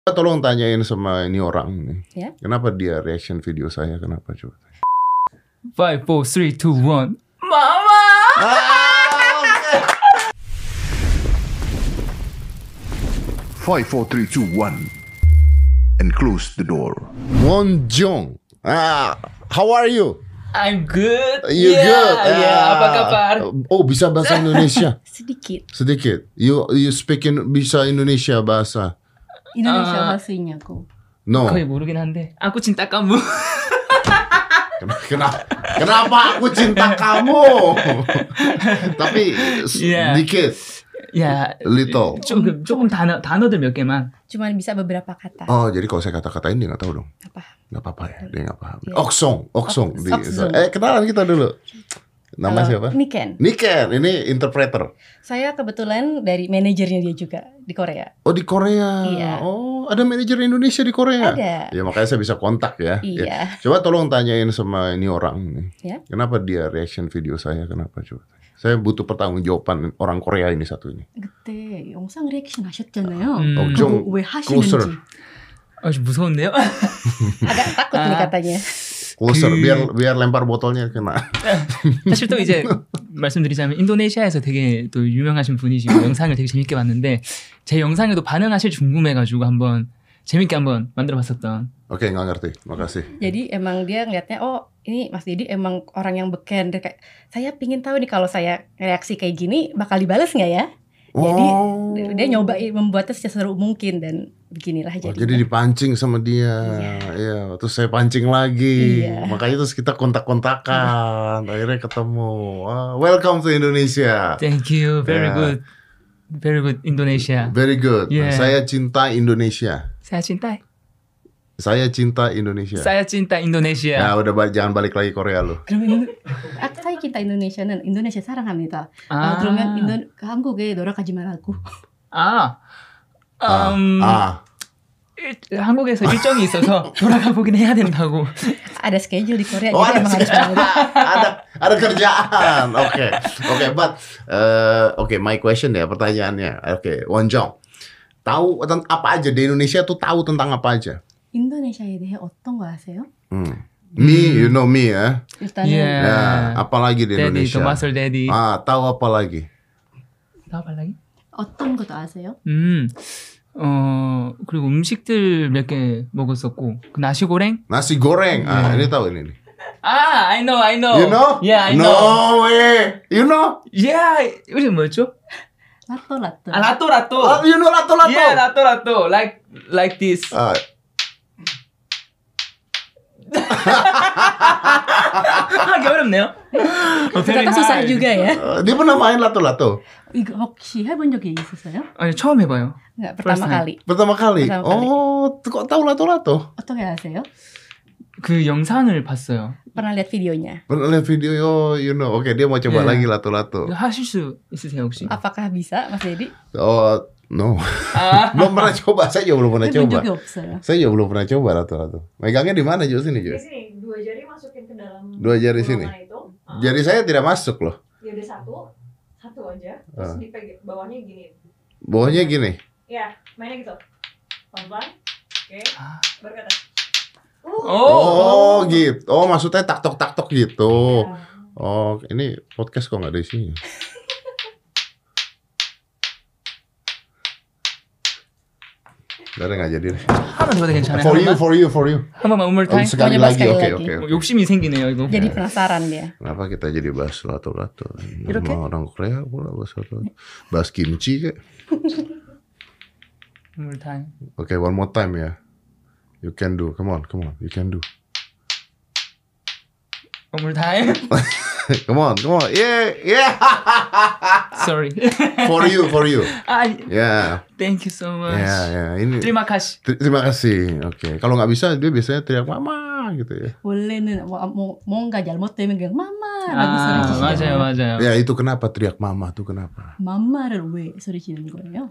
Tolong tanyain sama ini orang nih. Ya? Kenapa dia reaction video saya? Kenapa coba? 5, 4, 3, 2, 1. Mama! Okay. 5, 4, 3, 2, 1 and close the door. Wonjong. How are you? I'm good. You good? Apa kabar? Oh, bisa bahasa Indonesia? Sedikit. Sedikit. You bisa Indonesia bahasa? Indonesia bahasanya aku. No. 거의 모르긴 한데. Aku cinta kamu. Kenapa aku cinta kamu? Tapi Yeah. sedikit. 야, Little. 조금 단어들 몇 개만. Cuman bisa beberapa kata. Oh, jadi kalau saya kata-katain dia nggak tahu dong. Apa? Nggak apa-apa ya, dia nggak paham. Iya. Oksong. Oksong. Kenalan kita dulu. Nama siapa? Niken. Niken, ini interpreter. Saya kebetulan dari manajernya dia juga di Korea. Oh, di Korea. Iya. Oh, ada manajer Indonesia di Korea. Ada. Ya makanya saya bisa kontak ya. Iya. Ya. Coba tolong tanyain sama ini orang nih. Ya? Kenapa dia reaction video saya? Kenapa coba? Saya butuh pertanggungjawaban orang Korea ini satu ini. 그때 영상 리액션 하셨잖아요. 좀 왜 closer. 하시는지. 좀 무서운데요? agak takut nih katanya. Closer, biar lempar botolnya kena. 사실 또 이제 말씀드리자면 인도네시아에서 되게 또 유명하신 분이시고 영상을 되게 재밌게 봤는데 제 영상에도 반응하실지 궁금해가지고 한번 재밌게 한번 만들어봤었던. Oke, nggak ngerti. Makasih. Jadi emang dia ngeliatnya, oh ini Mas Dedi emang orang yang beken. Dia kayak, saya pingin tahu nih kalau saya reaksi kayak gini bakal dibales nggak ya? Jadi dia nyoba membuatnya seseru mungkin dan beginilah Oh, jadinya. jadi dipancing sama dia. Iya, terus saya pancing lagi. Iya. Makanya terus kita kontak-kontakan. Akhirnya ketemu. Welcome to Indonesia. Thank you. Very Yeah. good. Very good Indonesia. Very good. Yeah. Saya cinta Indonesia. saya cinta. Saya cinta Indonesia. saya cinta Indonesia. Ya udah jangan balik lagi Korea lu. 그러면 saya kita Indonesia는 인도네시아 사랑합니다. 그러면 한국에 돌아가지 말라고. 한국에서 일정이 있어서 돌아가 보긴 해야 된다고. Ada schedule di Korea, Oh, jadi emang harus balik. ada kerjaan. Oke, but my question ya, pertanyaannya. Oke, Wonjong. Tahu apa aja di Indonesia tuh tahu tentang apa aja? 인도네시아에 대해 어떤 거 아세요? Me, you know me ya. 일단은 Yeah. Ya, apalagi di Daddy, Indonesia? 도마솔 Daddy. Tahu apa lagi? 나와봐 lagi? 어떤 것도 아세요? 그리고 음식들 몇 개 먹었었고 그 나시고랭? Nasi goreng. Ini tahu ini. I know. You know? Yeah, I no know. way. You know? Yeah, 이름이 뭐였죠? 라또. 라또. You know lato. Yeah, 라또. Like this. 하기 어렵네요. ternyata susah juga ya. Dia pernah main lato. 이거 혹시 해본 적이 있었어요? 아니 처음 해봐요. Enggak, pertama First time. kali. Pertama kali. Pertama kali. Oh, kok tahu lato? 어떻게 아세요? 그 영상을 봤어요. Pernah lihat videonya. Pernah lihat video, you know. Oke, dia mau coba Yeah. lagi lato. 이거 하실 수 있으세요 혹시? Apakah bisa, Mas Dedi? Oh, no. Belum pernah coba. Saya juga belum pernah 해본 coba. 적이 없어요. Saya juga belum pernah coba lato. Megangnya di mana, Jo? Sini, Jo. Di sini, 2 jari masukin ke dalam Dua jari sini. bolongan itu. Jadi saya tidak masuk loh. Ya udah satu aja. Terus dipegang bawahnya gini. Bawahnya gini. Ya, mainnya gitu. Pelan-pelan. Oke. Baru ke atas. Oh, gitu. Oh, maksudnya taktok gitu. Ya. Oh, ini podcast kok nggak ada isinya. Udah nggak jadi deh. 한번 더 해도 괜찮아요? For you. 한 번만 one more time. Sekali Mau nyoba lagi, sekali oke. lagi. 욕심이 생기네요 이거. Jadi penasaran dia. Kenapa kita jadi bahas lato? Iroke? Nama orang Korea pula bahas lato. Bahas kimchi kayak. One more time. Oke, one more time ya. You can do. Come on. You can do. One more time. Come on. Yeah. Sorry. For you. Yeah. Thank you so much. Ya. Ini. Terima kasih. Terima kasih. Oke. Kalau nggak bisa, dia biasanya teriak mama gitu ya. 원래는 뭔가 잘못되면 그냥 마마라고 소리치시잖아요. 맞아요. Ya itu kenapa teriak mama tuh kenapa? 맘마를 왜 소리치는 거예요?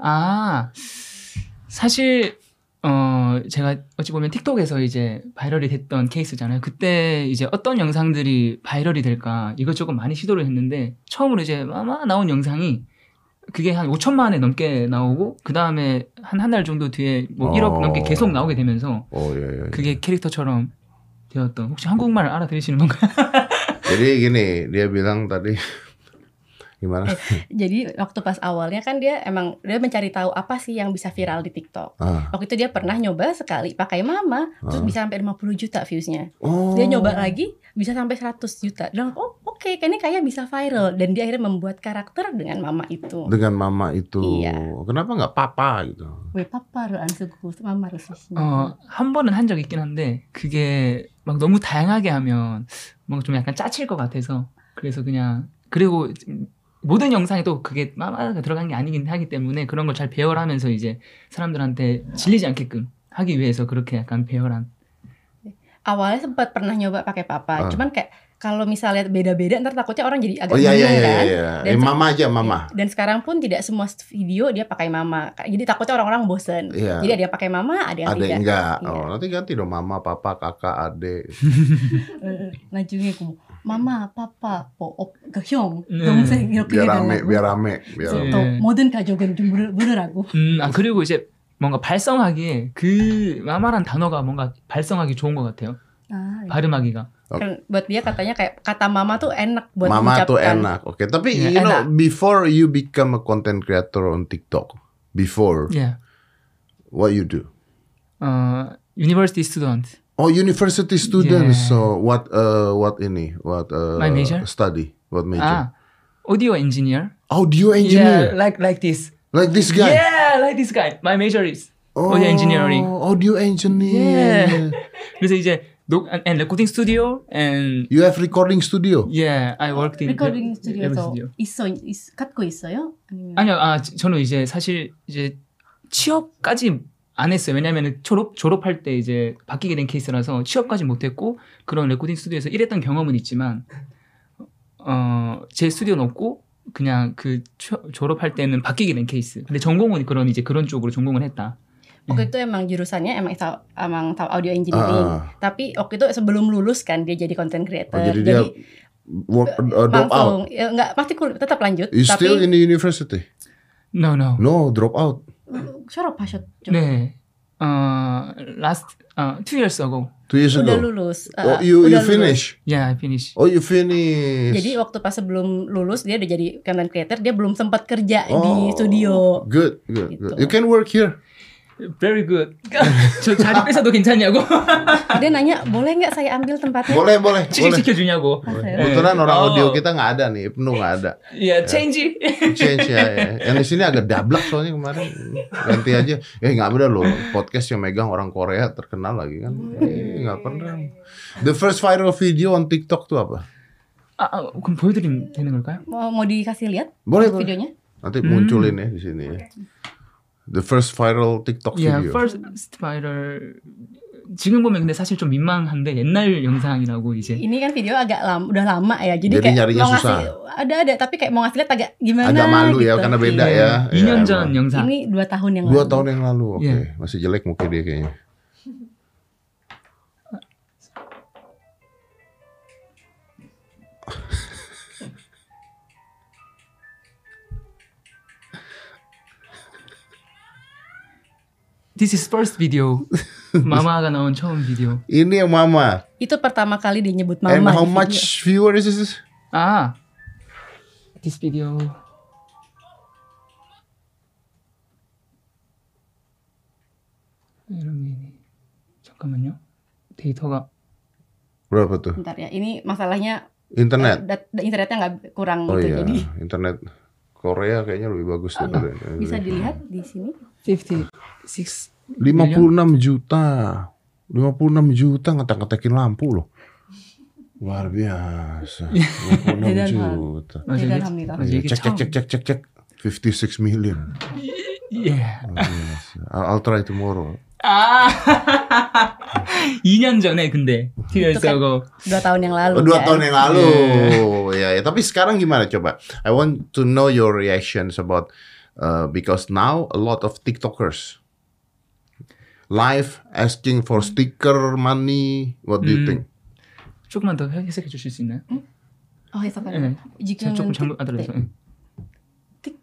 사실 제가 어찌 보면 틱톡에서 이제 바이럴이 됐던 케이스잖아요. 그때 이제 어떤 영상들이 바이럴이 될까 이것저것 많이 시도를 했는데 처음으로 이제 마마 나온 영상이 그게 한 5천만 회 넘게 나오고 그 다음에 한 달 정도 뒤에 뭐 1억 넘게 계속 나오게 되면서 예. 그게 캐릭터처럼 되었던. 혹시 한국말 알아들으시는 건가요? Jadi gini, dia bilang tadi gimana? Jadi waktu pas awalnya kan dia emang dia mencari tahu apa sih yang bisa viral di TikTok. Waktu itu dia pernah nyoba sekali pakai mama, terus bisa sampai 50 juta viewsnya. Dia nyoba lagi bisa sampai 100 juta. Dan oke, ini kayak bisa viral. Dan dia akhirnya membuat karakter dengan mama itu. Dengan mama itu. Iya. Kenapa nggak papa gitu? 왜 파파를 안 쓰고 마마를 쓰시냐? 한 번은 한 적이 있긴 한데 그게 막 너무 다양하게 하면 뭔가 좀 약간 짜칠 것 같아서 그래서 그냥 그리고 모든 영상에 또 그게 마마가 들어간 게 아니긴 하기 때문에 그런 걸 잘 배열하면서 이제 사람들한테 질리지 않게끔 하기 위해서 그렇게 약간 배열한. Awalnya sempat pernah nyoba pakai papa, cuman kayak kalau misalnya beda-beda ntar takutnya orang jadi agak iya, bingung kan. Dan mama aja mama. Dan sekarang pun tidak semua video dia pakai mama. Jadi takutnya orang-orang bosen. Iya. Jadi ada yang pakai mama, ada yang tidak. enggak. Iya. Nanti ganti dong mama, papa, kakak, adik. 나중에 그 mama, papa, 형, 동생 이렇게 해달라고. biar rame. 또 모든 가족은 좀 부르라고. 그리고 이제 뭔가 발성하기에 그 마마란 단어가 뭔가 발성하기 좋은 것 같아요. 발음하기가. Kan buat dia katanya kayak kata mama tuh enak buat Mama mengucapkan. tuh enak. Oke. Tapi Yeah, you know, enak. before you become a content creator on TikTok, before Yeah. what you do? University student. Oh, university students. Yeah. So what ini? What My major? study? What major? Audio engineer. Audio Yeah, engineer. like this. Like this guy. Yeah, like this guy. My major is audio engineering. Audio engineer. Yeah. 그래서 이제 and recording studio and You have recording studio. yeah, I worked in Recording every studio에서 갖고 있어요? 아니면 아니요, 저는 이제 사실 이제 취업까지 안 했어요. 왜냐하면 졸업할 때 이제 바뀌게 된 케이스라서 취업까지 못했고 그런 레코딩 스튜디오에서 일했던 경험은 있지만 제 스튜디오는 없고 그냥 그 졸업할 때는 바뀌게 된 케이스. 근데 전공은 그런 쪽으로 전공을 했다. waktu itu emang jurusannya emang tahu audio engineering. Tapi waktu itu sebelum lulus kan dia jadi content creator. Jadi dia drop out. Ya, enggak pasti tetap lanjut. You tapi still in the university? No. No, drop out. 졸업하셨죠? 네. Last 2 years ago. 2 years Udah ago. lulus. You udah finish? Yeah, I finished. Oh, you finish. Jadi waktu pas sebelum lulus dia udah jadi content creator, dia belum sempat kerja di studio. Good. Gitu. You can work here. Very good. 저 자리 뺏어도 괜찮냐고? Dia nanya, boleh nggak saya ambil tempatnya? Boleh. 취직시켜주냐고? Kebetulan orang audio kita nggak ada nih, penuh nggak ada. Iya, change. Change ya. Yang di sini agak dablak soalnya kemarin. Ganti aja. Nggak bener loh. Podcast yang megang orang Korea terkenal lagi kan. Nggak pernah. The first viral video on TikTok tuh apa? 그럼 보여드리면 되는 걸까요? Mau dikasih lihat Boleh. videonya? Nanti munculin ya di sini ya. The first viral TikTok Yeah, video. first viral. 지금 보면 근데 사실 좀 민망한데 옛날 영상이라고 이제. Ini kan video agak udah lama ya. Jadi Jadi kayak nyarinya mau ngasih susah. ada tapi kayak mau ngasih lihat agak gimana Agak malu ya gitu. karena beda Iya. ya. 2년 Ya, 전 emang. 영상. Ini 2 tahun yang 2 lalu. tahun yang lalu. Oke. Iya. Masih jelek muka dia kayaknya. This is first video. 마마가 나온 처음 비디오. Ini yang mama. Itu pertama kali dia nyebut mama. And how di video. much viewers is this? This video. 이러면 잠깐만요. 데이터가 Berapa tuh? Bentar ya. Ini masalahnya Internet. internetnya nggak kurang Oh gitu. iya, Jadi internet Korea kayaknya lebih bagus daripada bisa dilihat di sini. 56 56 juta. 56 juta ngetek-ngetekin lampu loh. Luar biasa. 56 juta. Alhamdulillah. 이게 Cek. 56 million. Yeah. Luar biasa. I'll try tomorrow. 2년 전에 근데 TV에서 2 tahun yang lalu. 2 kan? tahun yang lalu. Ya, tapi sekarang gimana coba? I want to know your reactions about because now a lot of TikTokers live asking for sticker money. What do you think? 조금만 더 해석해 주실 수 있나요? 해석하는. 네. 지금은 조금 잘못 알아들어서.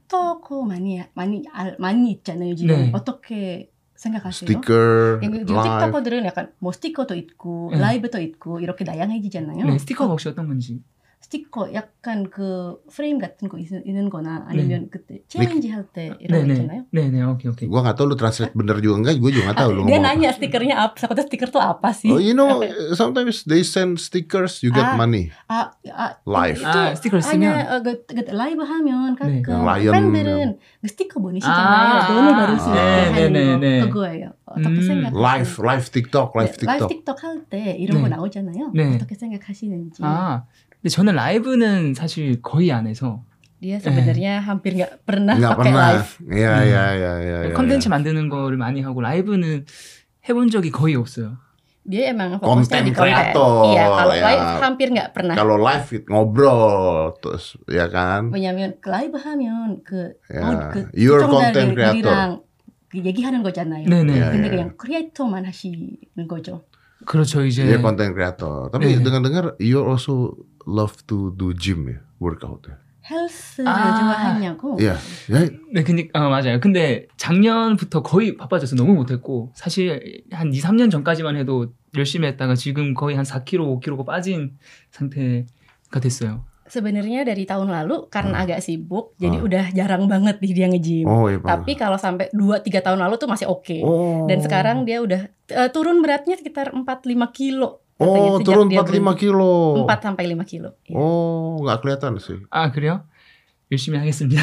스티커 많이 있잖아요 지금. 네. 어떻게 생각하세요? Sticker, 요즘 live. 틱토커들은 약간 뭐 스티커도 있고 네. 라이브도 있고 이렇게 다양해지잖아요. 네, 스티커가 혹시 어떤 건지. 스티커 약간 그 프레임 같은 거 있는 거나 아니면 그때 챌린지 할 때 이런 거 네네. 있잖아요. 네네, 오케이. Gua nggak tahu lu translate bener juga enggak, gue juga nggak tahu lu Dia ngomong apa. nanya stikernya apa, takutnya stiker tuh apa sih? Oh, you know, sometimes they send stickers, you get Ah. money. Live. itu 스티커를 쓰면 hanya 라이브 하면 네. 가끔 라이언. 팬들은 그 스티커 보내시잖아요. 아. 돈을 받을 수 있게 네, 하는 네, 거 네. 그거예요. 어떻게 생각하세요? Live TikTok, live 네, TikTok. 라이브 틱톡 할 때 이런 거 네. 나오잖아요. 네. 어떻게 생각하시는지. 근데 저는 라이브는 사실 거의 안 해서 Dia sebenarnya hampir nggak pernah Nggak pakai pernah. live. Iya. 컨텐츠 만드는 거를 많이 하고 라이브는 해본 적이 거의 없어요. Dia emang fokusnya di Konten konten. kreator, Iya, kalau ya. live hampir nggak pernah. Kalau live ngobrol terus ya kan. 왜냐면 라이브 하면 그 야, 그 you're content creator. 시청자들이랑 그 얘기하는 거잖아요. 네네. 야, 근데 야. 그냥 크리에이터만 하시는 거죠. 그렇죠, 이제. Dia content creator. Tapi 네. dengar-dengar you also love to do gym ya, workout ya. 헬스를 아. 좋아하냐고. Iya. 네, 맞아요. 근데 작년부터 거의 바빠져서 너무 못했고, 사실 한 2, 3년 전까지만 해도 열심히 했다가 지금 거의 한 4kg, 5kg가 빠진 상태가 됐어요. Sebenarnya dari tahun lalu karena agak sibuk, jadi udah jarang banget nih dia nge-gym. Oh, iya. Tapi kalau sampai 2-3 tahun lalu tuh masih oke. Oh. Dan sekarang dia udah turun beratnya sekitar 4-5 kilo. Oh, Katanya, sejak turun dia 4-5 kilo. 4-5 kilo. Iya. Oh, nggak kelihatan sih. 아, 그래요? 열심히 하겠습니다.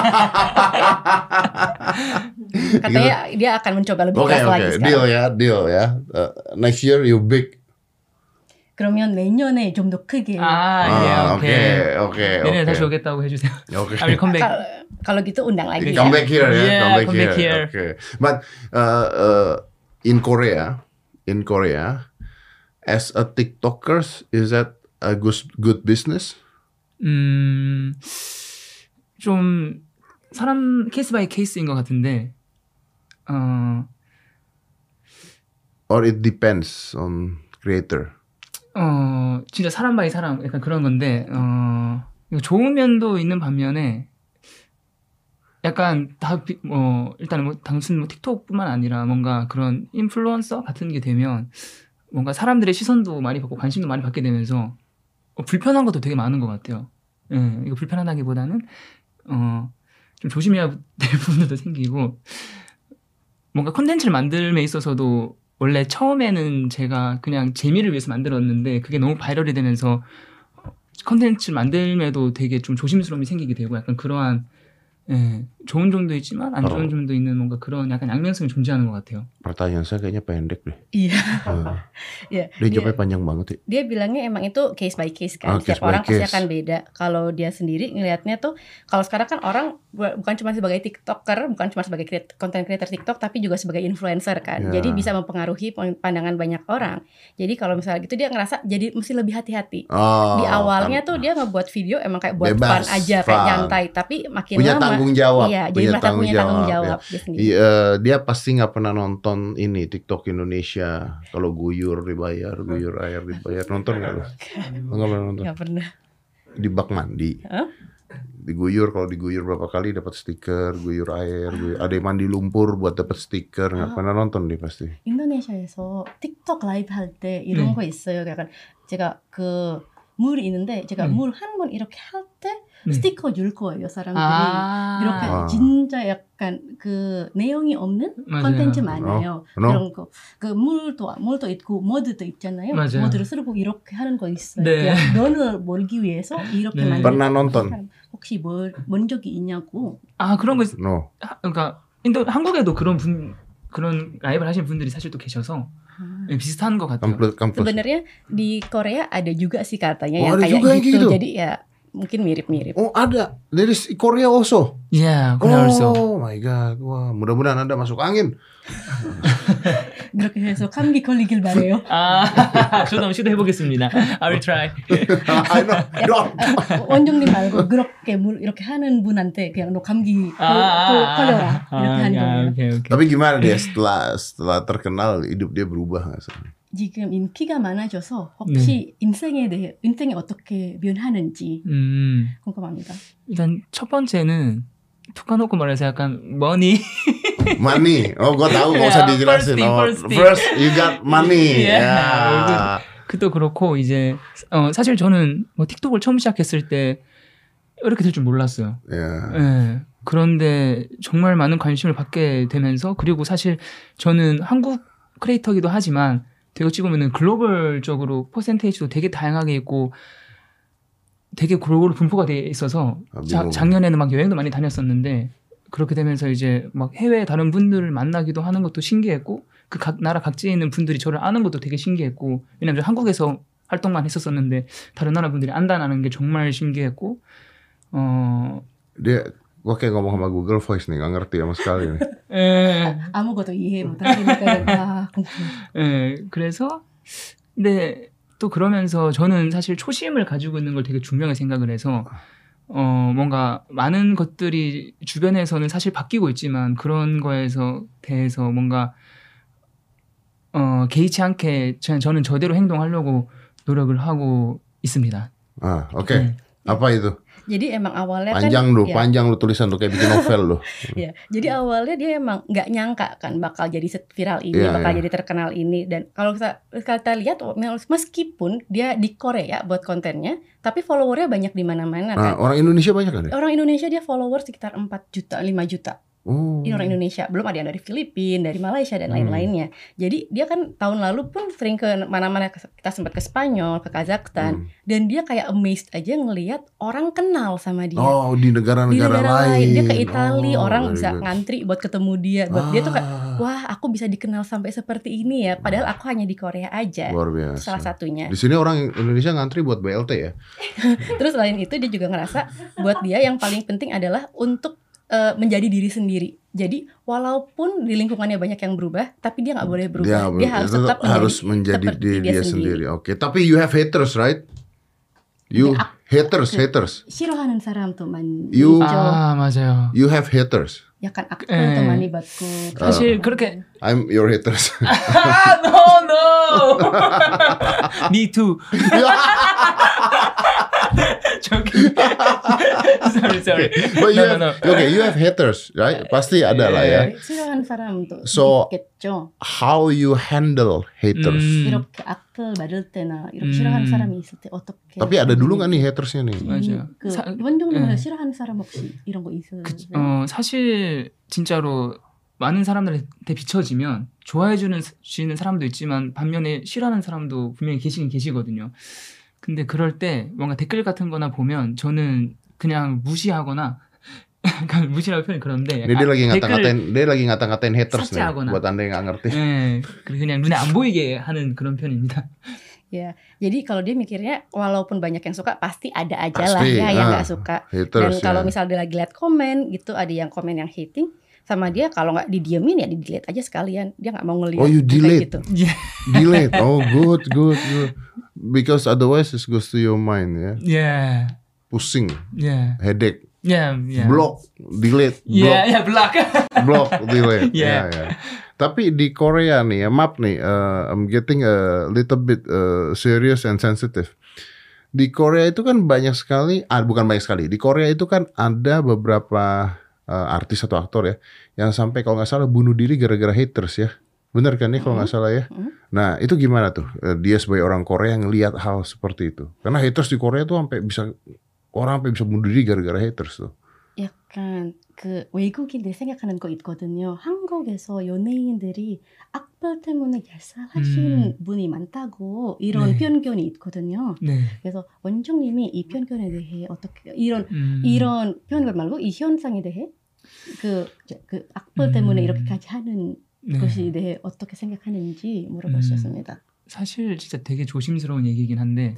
Katanya dia akan mencoba lebih Oke, keras lagi sekarang. deal ya. Next year you big. 그러면 내년에 좀 더 크게. 오케이. 내년에 다시 오겠다고 해주세요. Okay. I will come back. Kalau gitu undang lagi Come ya. back here ya. Yeah, come back here. Okay. But in Korea, as a TikTokers, is that a good business? 좀 사람 케이스 바이 케이스인 것 같은데, Or it depends on creator. 진짜 사람 바이 사람 약간 그런 건데, 이거 좋은 면도 있는 반면에 약간 일단은 단순 틱톡뿐만 아니라 뭔가 그런 인플루언서 같은 게 되면 뭔가 사람들의 시선도 많이 받고 관심도 많이 받게 되면서 불편한 것도 되게 많은 것 같아요. 예, 이거 불편하다기보다는 좀 조심해야 될 부분도 생기고, 뭔가 콘텐츠를 만들면 있어서도 원래 처음에는 제가 그냥 재미를 위해서 만들었는데 그게 너무 바이럴이 되면서 콘텐츠를 만들면도 되게 좀 조심스러움이 생기게 되고, 약간 그러한 좋은 점도 있지만 안 좋은 점도 있는 뭔가 그런 약간 양면성이 존재하는 것 같아요. Pertanyaan saya kayaknya pendek deh. Iya. Iya. Dia jawabnya panjang banget ya. Dia bilangnya emang itu case by case kan. Case Setiap by orang pasti case. akan beda. Kalau dia sendiri ngelihatnya tuh, kalau sekarang kan orang bukan cuma sebagai TikToker, bukan cuma sebagai content creator TikTok, tapi juga sebagai influencer kan. Ya. Jadi bisa mempengaruhi pandangan banyak orang. Jadi kalau misalnya gitu dia ngerasa jadi mesti lebih hati-hati. Oh, Di awalnya kan. tuh dia ngebuat video emang kayak buat Bebas, fun aja, kayak fun. nyantai. Tapi makin punya lama, tanggung jawab. iya, jadi merasa punya tanggung jawab ya. dia sendiri. Dia pasti nggak pernah nonton ini TikTok Indonesia. Kalau guyur dibayar, guyur air dibayar. Nonton nggak lu? Nggak pernah nonton. Nggak pernah. Di bak mandi. Hah? Diguyur, kalau diguyur berapa kali dapat stiker, guyur air, ada yang mandi lumpur buat dapat stiker. Nggak pernah nonton dia pasti. 인도네시아에서 틱톡 라이브 할 때 이런 거 있어요. 약간 제가 그 물이 있는데 제가 물 한 번 이렇게 할 때 스티커 줄 거예요, 사람들이. 이렇게 진짜 약간 그 내용이 없는 맞아요. 콘텐츠 많아요. No? 그런 거. 그 물도 있고 모드도 있잖아요. 맞아요. 모드를 쓰고 이렇게 하는 거 있어요. 네. 그냥 면을 몰기 위해서 이렇게 네. 만드는 Pernah nonton? 사람 혹시 본 적이 있냐고. 아, 그런 거 No. 그러니까 한국에도 그런 라이브를 하시는 분들이 사실 또 계셔서 비슷한 것 같아요. Kampus. Sebenarnya di Korea ada juga sih katanya Oh, yang ada kayak juga yang gitu. gitu? Jadi ya mungkin mirip-mirip. Oh ada, dari Korea also. Yeah, Korea also. Oh my god, wah mudah-mudahan Anda masuk angin. 그렇게 해서 감기 걸리길 바래요. 저도 한번 시도해보겠습니다. I will try. I know, don't. 원종님 말고 그렇게 이렇게 하는 분한테 그냥 너 감기 걸려라 이렇게 하는 거예요. 오케이. Tapi gimana dia setelah terkenal hidup dia berubah nggak sih? 지금 인기가 많아져서 혹시 인생에 어떻게 변하는지 궁금합니다. 일단 첫 번째는 툭 까놓고 말해서 약간 money. Money. Oh, gue tahu nggak usah Yeah, dijelasin. first thing. First you got money. Yeah. Yeah. 그도 그렇고 이제 사실 저는 뭐 틱톡을 처음 시작했을 때 이렇게 될 줄 몰랐어요. Yeah. 예. 그런데 정말 많은 관심을 받게 되면서 그리고 사실 저는 한국 크리에이터기도 하지만 되게 찍으면은 글로벌적으로 퍼센테이지도 되게 다양하게 있고 되게 골고루 분포가 돼 있어서 작년에는 막 여행도 많이 다녔었는데 그렇게 되면서 이제 막 해외 다른 분들을 만나기도 하는 것도 신기했고 그 각 나라 각지에 있는 분들이 저를 아는 것도 되게 신기했고 왜냐면 저 한국에서 활동만 했었었는데 다른 나라 분들이 안다는 게 정말 신기했고 Dia, gue kayak ngomong sama Google Voice nih, gak ngerti sama sekali nih. 아무것도 이해 못하니까. 그래서 근데 또 그러면서 저는 사실 초심을 가지고 있는 걸 되게 중요하게 생각을 해서 뭔가 많은 것들이 주변에서는 사실 바뀌고 있지만 그런 거에서 대해서 뭔가 개의치 않게 저는 저대로 행동하려고 노력을 하고 있습니다. Ah, oke. Apa itu? Jadi emang awalnya Panjang lu tulisan lu kayak bikin novel lu. Ya, jadi awalnya dia emang nggak nyangka kan bakal jadi viral ini, bakal jadi terkenal ini. Dan kalau kita lihat, meskipun dia di Korea buat kontennya, tapi followernya banyak di mana-mana kan. Orang Indonesia banyak kan? Orang Indonesia dia follower sekitar 4 juta, 5 juta. Oh. Ini orang Indonesia, belum ada yang dari Filipina, dari Malaysia dan lain-lainnya. Jadi dia kan tahun lalu pun sering ke mana-mana, kita sempat ke Spanyol, ke Kazakhstan, dan dia kayak amazed aja ngelihat orang kenal sama dia. Oh, di negara-negara lain. Dia ke Italia, orang bisa ngantri buat ketemu dia. Buat dia tuh kayak, wah aku bisa dikenal sampai seperti ini ya. Padahal aku hanya di Korea aja. Luar biasa. Salah satunya. Di sini orang Indonesia ngantri buat BLT ya. Terus selain itu dia juga ngerasa buat dia yang paling penting adalah untuk menjadi diri sendiri. Jadi walaupun di lingkungannya banyak yang berubah, tapi dia nggak boleh berubah. Dia harus tetap menjadi diri dia sendiri. Oke. Tapi you have haters, right? You haters. 싫어하는 사람도 많이 You 있죠. 맞아요. You have haters. 약간 악플도 많이 받고. 사실 그렇게 I'm your haters. no. Me too. Joking. Sorry. But No. Okay, you have haters, right? Pasti ada lah ya. 싫어하는 사람도 So, 있겠죠. how you handle haters? 이렇게 악플 받을 때나 이렇게 싫어하는 사람이 있을 때 어떻게? tapi ada dulu nggak nih hatersnya nih? 맞아요. 원종님은 싫어하는 사람 혹시 이런 거 있어요? 사실 진짜로 많은 사람들한테 비춰지면 좋아해 주시는 사람도 있지만 반면에 싫어하는 사람도 분명히 계시거든요. 근데 그럴 때 뭔가 댓글 같은 거나 보면 저는 그냥 무시하거나 무시라고 표현이 그런데 dia lagi ngata-ngatain haters nih buat Anda yang nggak ngerti. 그냥 눈에 안 보이게 하는 그런 편입니다. Ya, jadi kalau dia mikirnya walaupun banyak yang suka pasti ada aja lah ya yang nggak suka. Haters, dan kalau misalnya dia lagi lihat komen gitu ada yang komen yang hating sama dia, kalau nggak didiemin ya di delete aja sekalian, dia nggak mau ngelihat. Oh, you delete gitu. Delete. Oh, good. Because otherwise it goes to your mind ya. Yeah. Pusing. Yeah. Headache. Yeah. Block, delete. Block. Block, delete. Yeah. Tapi di Korea nih ya, maaf nih, I'm getting a little bit serious and sensitive. Di Korea itu kan banyak sekali, bukan banyak sekali. Di Korea itu kan ada beberapa artis atau aktor ya, yang sampai kalau nggak salah bunuh diri gara-gara haters ya. Bener kan nih kalau nggak salah ya. Nah itu gimana tuh dia sebagai orang Korea ngelihat hal seperti itu? Karena haters di Korea tuh orang sampai bisa bunuh diri gara-gara haters tuh. 약간 그 외국인들 생각하는 거 있거든요. 한국에서 연예인들이 악플 때문에 자살하시는 분이 많다고 이런 편견이 있거든요. 네. 그래서 원종님이 이 편견에 대해 어떻게 이런 편견 말고 이 현상에 대해 그 악플 때문에 이렇게까지 하는 것에 대해 어떻게 생각하는지 물어보셨습니다. 사실 진짜 되게 조심스러운 얘기긴 한데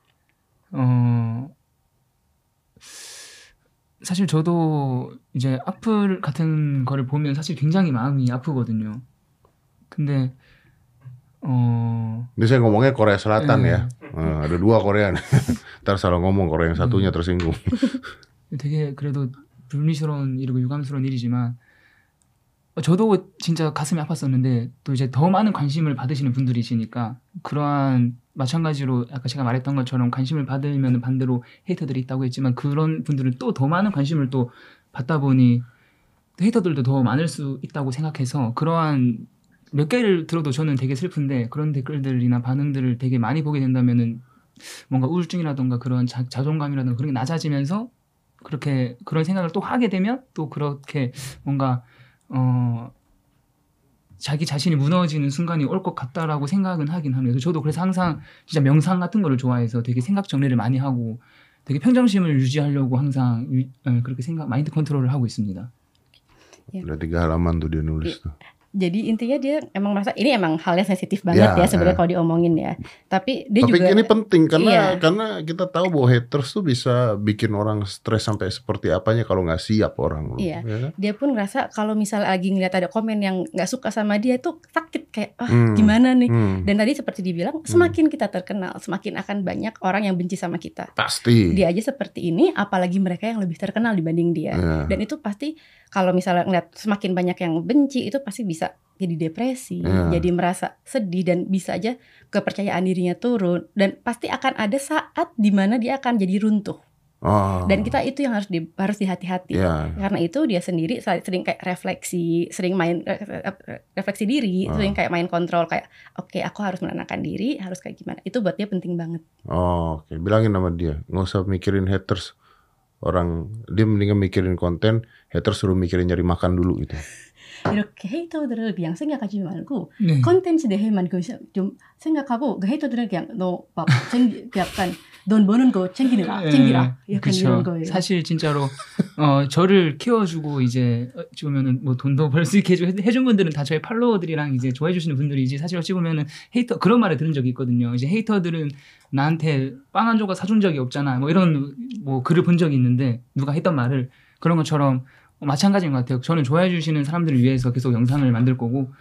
사실 저도 이제 악플 같은 거를 보면 사실 굉장히 마음이 아프거든요. 근데 ini saya ngomongnya Korea Selatan ya. Ada dua Korea. Ntar salah ngomong Korea yang satunya tersinggung. 되게 그래도 불미스러운 일이고 유감스러운 일이지만 저도 진짜 가슴이 아팠었는데 또 이제 더 많은 관심을 받으시는 분들이시니까 그러한 마찬가지로 아까 제가 말했던 것처럼 관심을 받으면 반대로 헤이터들이 있다고 했지만 그런 분들은 또 더 많은 관심을 또 받다 보니 헤이터들도 더 많을 수 있다고 생각해서 그러한 몇 개를 들어도 저는 되게 슬픈데 그런 댓글들이나 반응들을 되게 많이 보게 된다면은 뭔가 우울증이라던가 그런 자존감이라던가 그런 게 낮아지면서 그렇게 그런 생각을 또 하게 되면 또 그렇게 뭔가 자기 자신이 무너지는 순간이 올 것 같다라고 생각은 하긴 합니다. 저도 그래서 항상 진짜 명상 같은 거를 좋아해서 되게 생각 정리를 많이 하고 되게 평정심을 유지하려고 항상 그렇게 마인드 컨트롤을 하고 있습니다. Udah 3 halaman tuh dia nulis tuh. Jadi intinya dia emang merasa ini emang halnya sensitif banget ya sebenarnya kalau diomongin ya. Tapi dia juga ini penting karena kita tahu bahwa haters tuh bisa bikin orang stres sampai seperti apanya kalau nggak siap orang. Iya. Ya kan? Dia pun ngerasa kalau misalnya lagi ngeliat ada komen yang nggak suka sama dia itu sakit kayak gimana nih. Dan tadi seperti dibilang semakin kita terkenal semakin akan banyak orang yang benci sama kita. Pasti. Dia aja seperti ini apalagi mereka yang lebih terkenal dibanding dia. Dan itu pasti kalau misalnya ngeliat semakin banyak yang benci itu pasti bisa jadi depresi, jadi merasa sedih dan bisa aja kepercayaan dirinya turun dan pasti akan ada saat di mana dia akan jadi runtuh. Dan kita itu yang harus dihati-hati. Karena itu dia sendiri sering kayak sering main refleksi diri, sering kayak main kontrol kayak oke, aku harus menenangkan diri, harus kayak gimana. Itu buat dia penting banget. Oke. Bilangin sama dia, nggak usah mikirin haters. Orang dia mendingan mikirin konten, haters suruh mikirin nyari makan dulu gitu. 이렇게 헤이터들을 그냥 생각하지 말고 컨텐츠 내에만 좀 생각하고 그 헤이터들은 그냥 너 막 약간 돈 버는 거 챙기라 약간 그쵸. 이런 거예요. 사실 진짜로 저를 키워주고 이제 어찌 보면은 뭐 돈도 벌 수 있게 해준 분들은 다 저의 팔로워들이랑 이제 좋아해 주시는 분들이지 사실 어찌 보면은 헤이터 그런 말을 들은 적이 있거든요. 이제 헤이터들은 나한테 빵 한 조각 사준 적이 없잖아. 뭐 이런 뭐 글을 본 적이 있는데 누가 했던 말을 그런 것처럼 마찬가지인 것 같아요. 저는 좋아해 주시는 사람들을 위해서 계속 영상을 만들 거고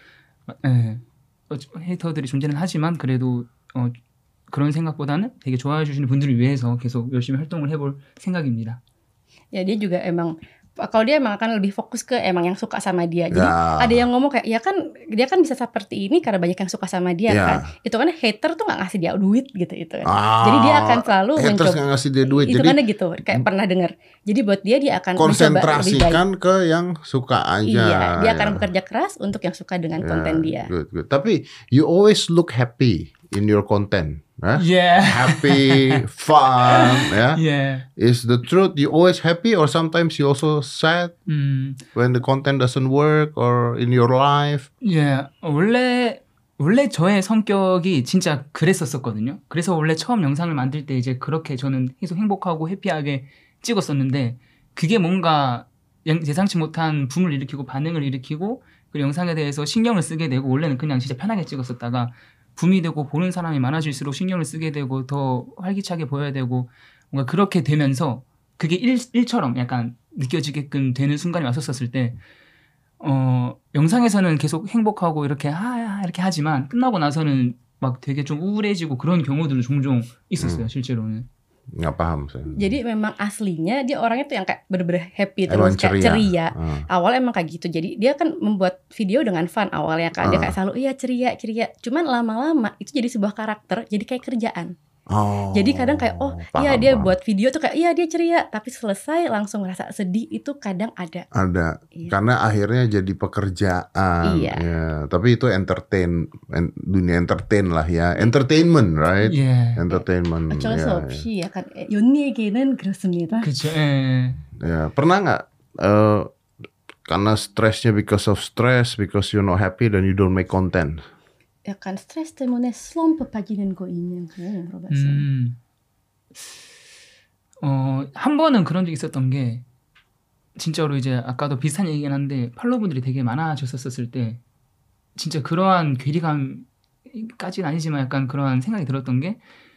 헤이터들이 존재는 하지만 그래도 그런 생각보다는 되게 좋아해 주시는 분들을 위해서 계속 열심히 활동을 해볼 생각입니다. Ya dia juga emang kalau dia emang akan lebih fokus ke emang yang suka sama dia. Jadi ada yang ngomong kayak ya kan dia kan bisa seperti ini karena banyak yang suka sama dia kan. Itu kan hater tuh nggak ngasih dia duit gitu itu kan. Jadi dia akan selalu haters nggak ngasih dia duit. Itu kan gitu kayak pernah dengar. Jadi buat dia akan konsentrasikan ke yang suka aja. Iya, dia akan bekerja keras untuk yang suka dengan konten dia. Good. Tapi you always look happy in your content. Happy, fun, Is the truth you always happy or sometimes you also sad when the content doesn't work or in your life? 원래 저의 성격이 진짜 그랬었거든요. 그래서 원래 처음 영상을 만들 때 이제 그렇게 저는 계속 행복하고 해피하게 찍었었는데 그게 뭔가 예상치 못한 붐을 일으키고 반응을 일으키고 그 영상에 대해서 신경을 쓰게 되고 원래는 그냥 진짜 편하게 찍었었다가 붐이 되고 보는 사람이 많아질수록 신경을 쓰게 되고 더 활기차게 보여야 되고 뭔가 그렇게 되면서 그게 일처럼 약간 느껴지게끔 되는 순간이 왔었을 때 영상에서는 계속 행복하고 이렇게 이렇게 하지만 끝나고 나서는 막 되게 좀 우울해지고 그런 경우들은 종종 있었어요. 실제로는. Nggak paham saya. Jadi memang aslinya dia orangnya tuh yang kayak bener-bener happy terus kayak ceria. Awalnya emang kayak gitu. Jadi dia kan membuat video dengan fun awalnya kan. Dia kayak selalu ceria. Cuman lama-lama itu jadi sebuah karakter, jadi kayak kerjaan. Jadi kadang kayak dia buat video tuh kayak dia ceria, tapi selesai langsung ngerasa sedih itu kadang ada. Karena akhirnya jadi pekerjaan. Tapi itu dunia entertain lah ya, entertainment, right? Entertainment. 어쩔 수 없이 약간 연 얘기는 그렇습니다. 그죠. Pernah nggak karena stresnya because of stress, because you're not happy then you don't make content? 약간 스트레스 때문에 슬럼프 빠지는 거 있냐고 물어봤어요. 한 번은 그런 적이 있었던 게 진짜로 이제 아까도 비슷한 얘기긴 한데 팔로우분들이 되게 많아졌었을 때 진짜 그러한 괴리감까지는 아니지만 약간 그러한 생각이 들었던 게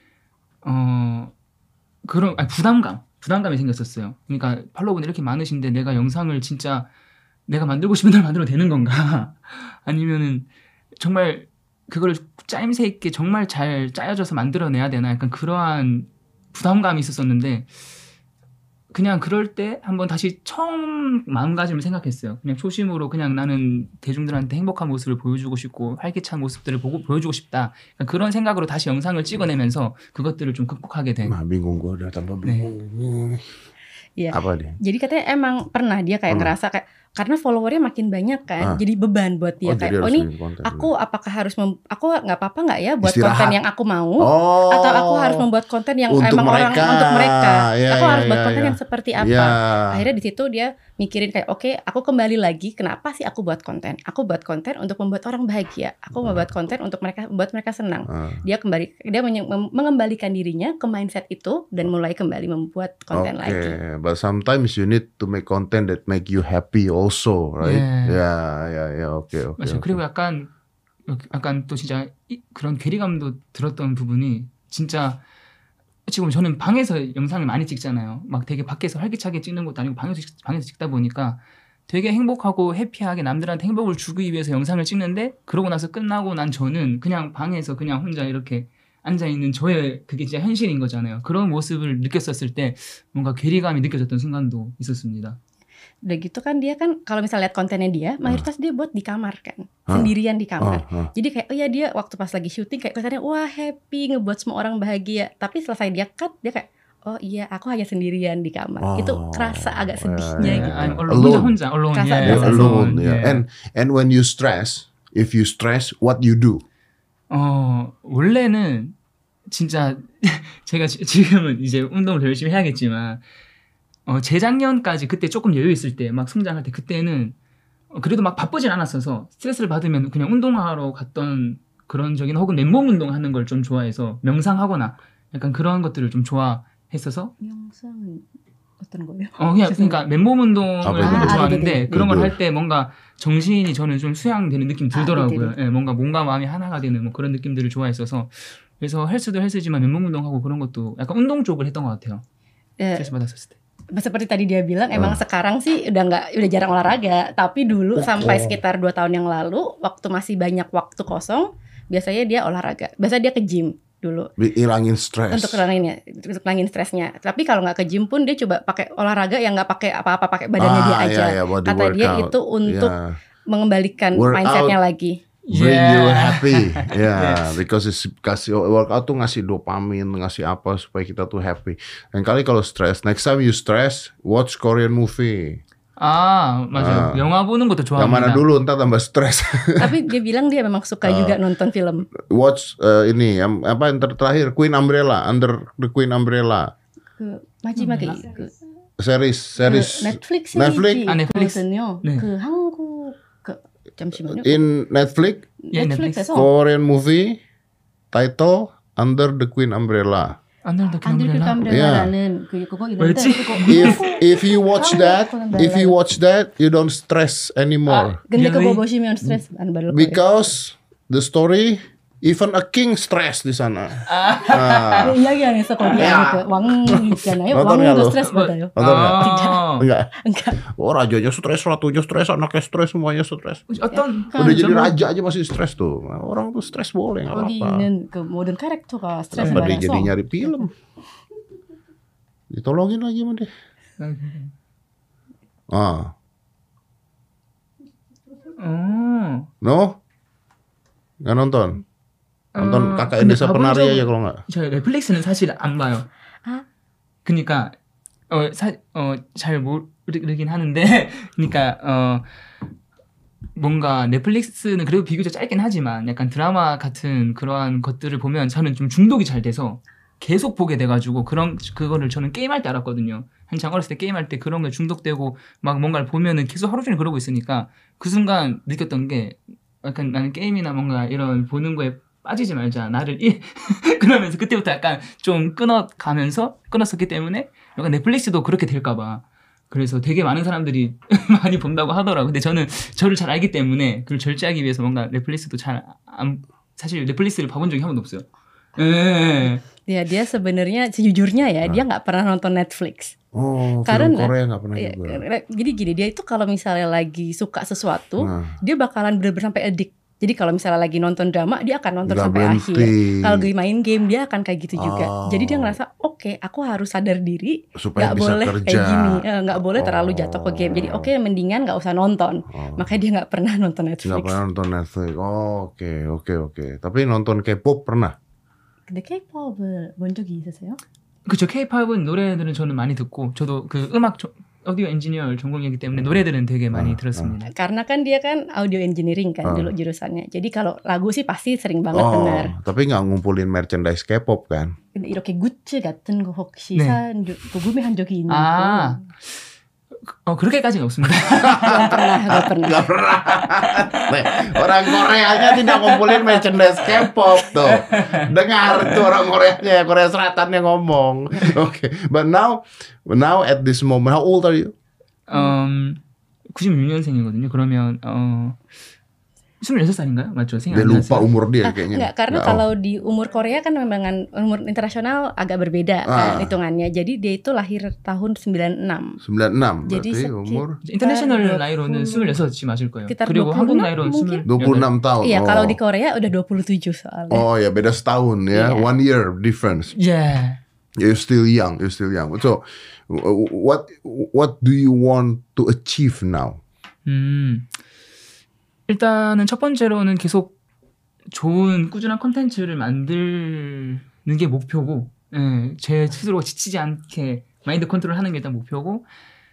그런 부담감이 생겼었어요. 그러니까 팔로우분들이 이렇게 많으신데 내가 영상을 진짜 내가 만들고 싶은 대로 만들어도 되는 건가? 아니면은 정말 그걸 짜임새 있게 정말 잘 짜여져서 만들어내야 되나 약간 그러한 부담감이 있었었는데 그냥 그럴 때 한번 다시 처음 마음가짐을 생각했어요. 그냥 초심으로 그냥 나는 대중들한테 행복한 모습을 보여주고 싶고 활기찬 모습들을 보여주고 싶다. 그러니까 그런 생각으로 다시 영상을 찍어내면서 그것들을 좀 극복하게 된. Bingung gue udah tambah bingung. Iya. Apa dia? Jadi katanya emang pernah dia kayak ngerasa kayak karena followernya makin banyak kan, jadi beban buat dia jadi kayak harus ini bikin konten. aku apakah harus aku nggak apa-apa nggak ya buat Istirahat. konten yang aku mau Oh. atau aku harus membuat konten yang Untuk emang orang mereka. untuk mereka. Ya, Aku ya, harus buat ya, konten ya. yang seperti apa. Ya. Akhirnya di situ dia mikirin kayak oke, aku kembali lagi kenapa sih aku buat konten? Aku buat konten untuk membuat orang bahagia. Aku membuat konten untuk membuat mereka senang. Dia mengembalikan dirinya ke mindset itu dan mulai kembali membuat konten lagi. Okay, but sometimes you need to make content that make you happy also, right? Yeah, okay. 맞아요. 그리고 약간 또 진짜 그런 괴리감도 들었던 부분이 진짜 지금 저는 방에서 영상을 많이 찍잖아요. 막 되게 밖에서 활기차게 찍는 것도 아니고 방에서 찍다 보니까 되게 행복하고 해피하게 남들한테 행복을 주기 위해서 영상을 찍는데 그러고 나서 끝나고 난 저는 그냥 방에서 그냥 혼자 이렇게 앉아있는 저의 그게 진짜 현실인 거잖아요. 그런 모습을 느꼈었을 때 뭔가 괴리감이 느껴졌던 순간도 있었습니다. Udah gitu kan dia kan kalau misalnya lihat kontennya dia mayoritas dia buat di kamar kan sendirian di kamar. Jadi kayak oh ya dia waktu pas lagi syuting kayak kelihatannya wah happy ngebuat semua orang bahagia. Tapi selesai dia cut dia kayak oh iya aku hanya sendirian di kamar. Itu kerasa agak sedihnya gitu. 혼자 alone. Kerasa Yeah. berasa Alone, Yeah. yeah. And when you stress, if you stress, what you do? 원래는 진짜 제가 지금은 이제 운동을 더 열심히 해야겠지만 재작년까지 그때 조금 여유 있을 때 막 성장할 때 그때는 그래도 막 바쁘진 않았어서 스트레스를 받으면 그냥 운동하러 갔던 그런 적이나 혹은 맨몸 운동하는 걸 좀 좋아해서 명상하거나 약간 그런 것들을 좀 좋아했어서 영상은 어떤 거예요? 그냥 그러니까 맨몸 운동을 하는 걸 좋아하는데 네네. 그런 걸 할 때 뭔가 정신이 저는 좀 수양되는 느낌 들더라고요. 예, 뭔가 몸과 마음이 하나가 되는 뭐 그런 느낌들을 좋아했어서 그래서 헬스도 헬스지만 맨몸 운동하고 그런 것도 약간 운동 쪽을 했던 것 같아요. 스트레스 받았을 때. Seperti tadi dia bilang emang sekarang sih udah jarang olahraga, tapi dulu sampai sekitar 2 tahun yang lalu waktu masih banyak waktu kosong biasanya dia olahraga. Biasanya dia ke gym dulu. Hilangin stres. Untuk hilangin stresnya. Tapi kalau nggak ke gym pun dia coba pakai olahraga yang nggak pakai apa-apa, pakai badannya dia aja. body Kata dia workout. itu untuk mengembalikan Workout. mindsetnya lagi. Bring you happy, because kasih workout tuh ngasih dopamin, ngasih apa supaya kita tuh happy. Dan kali kalau stress, next time you stress, watch Korean movie. 맞아요. 영화 보는 것도 좋아합니다. Yang mana dulu ntar tambah stres. Tapi dia bilang dia memang suka juga nonton film. Watch ini yang terakhir Queen Umbrella, Under the Queen Umbrella. 마지막에 그 Series 넷플릭스 Netflix? 있거든요. 네. 그 한국 잠시만요. in Netflix, 넷플릭스에서 Korean movie title Under the Queen Umbrella. Under the 캄브렐라라는 그거 있는데 뭐였지? If you watch that, you don't stress anymore. 근데 Really? 그거 보시면 스트레스 안 받을 거예요. Because the story, even a king stress di sana. 그 이야기 안에서 거기 안에 그왕 있잖아요. nonton nggak 왕도 lo? 스트레스 받아요. Nonton nggak? Enggak. Enggak. Oh rajanya stres, ratunya stres, anaknya stres, semuanya stres. 어떤 Udah jadi raja aja masih stres tuh. Orang tuh stres boleh nggak 거기 apa-apa. 있는 그 모든 캐릭터가 스트레스 Apa dia jadi 받아서 nyari film? Ditolongin lagi sama dia. No? Nggak nonton? Nonton Kakak 근데 Desa 가본 Penari 적은- aja kalau nggak. 저 넷플릭스는 사실 안 봐요. 그러니까 잘 모르긴 하는데 그러니까 뭔가 넷플릭스는 그래도 비교적 짧긴 하지만 약간 드라마 같은 그러한 것들을 보면 저는 좀 중독이 잘 돼서 계속 보게 돼가지고 그거를 저는 게임할 때 알았거든요. 한창 어렸을 때 게임할 때 그런 거에 중독되고 막 뭔가를 보면은 계속 하루 종일 그러고 있으니까 그 순간 느꼈던 게 약간 나는 게임이나 뭔가 이런 보는 거에 빠지지 말자. 그러면서 그때부터 약간 좀 끊었었기 때문에 약간 넷플릭스도 그렇게 될까봐. 그래서 되게 많은 사람들이 많이 본다고 하더라고요. 근데 저는 저를 잘 알기 때문에 그걸 절제하기 위해서 뭔가 넷플릭스도 사실 넷플릭스를 봐본 적이 한 번도 없어요. 예. ya dia sebenarnya sejujurnya ya dia nggak pernah nonton Netflix. Oh, film Karena Korea nggak pernah ya, juga. jadi gini dia itu kalau misalnya lagi suka sesuatu dia bakalan bener-bener sampai addict. Jadi kalau misalnya lagi nonton drama dia akan nonton Nggak sampai berhenti. akhir. Kalau lagi main game dia akan kayak gitu juga. Jadi dia ngerasa oke, aku harus sadar diri Supaya nggak bisa boleh kerja. kayak gini, nggak boleh terlalu jatuh ke game. Jadi oke, mendingan nggak usah nonton. Makanya dia nggak pernah nonton Nggak Netflix. pernah nonton Netflix. Oh, oke. Tapi nonton K-pop pernah? 근데 K-pop을 본 적이 있으세요? 그쵸. K-팝은 노래들은 저는 많이 듣고 저도 그 오디오 엔지니어 전공이기 때문에 노래들은 되게 많이 들었습니다. Karena kan dia kan audio engineering kan dulu jurusannya. Jadi kalau lagu sih pasti sering banget Oh, denger. tapi nggak ngumpulin merchandise K-pop kan? 이렇게 굿즈 같은 거 혹시 네. 구매한 적이 있는 아, 그렇게까지는 없습니다. Gak pernah. Gak pernah. Nih, orang Koreanya tidak ngumpulin merchandise K-pop tuh. Dengar tuh orang Koreanya, Korea Selatan yang ngomong. Okay, but now at this moment, how old are you? 96년생이거든요. 그러면 26살인가요? 맞죠? 생각 Dia 안 lupa 났어요. umur dia kayaknya. Enggak, karena Nggak, kalau di umur Korea kan memang umur internasional agak berbeda kan hitungannya. Jadi dia itu lahir tahun 96. 96 Jadi berarti umur 인터내셔널 20, 나이로는 26이 맞을 거예요. sekitar 그리고 26 한국 나이로는 mungkin? 26 tahun. Iya, Oh. kalau di Korea udah 27 soalnya. Oh ya, beda setahun ya. Iya. 1 year difference. Yeah. You're still young. So, what do you want to achieve now? 일단은 첫 번째로는 계속 좋은 꾸준한 콘텐츠를 만드는 게 목표고, 제 스스로 지치지 않게 마인드 컨트롤하는 게 일단 목표고,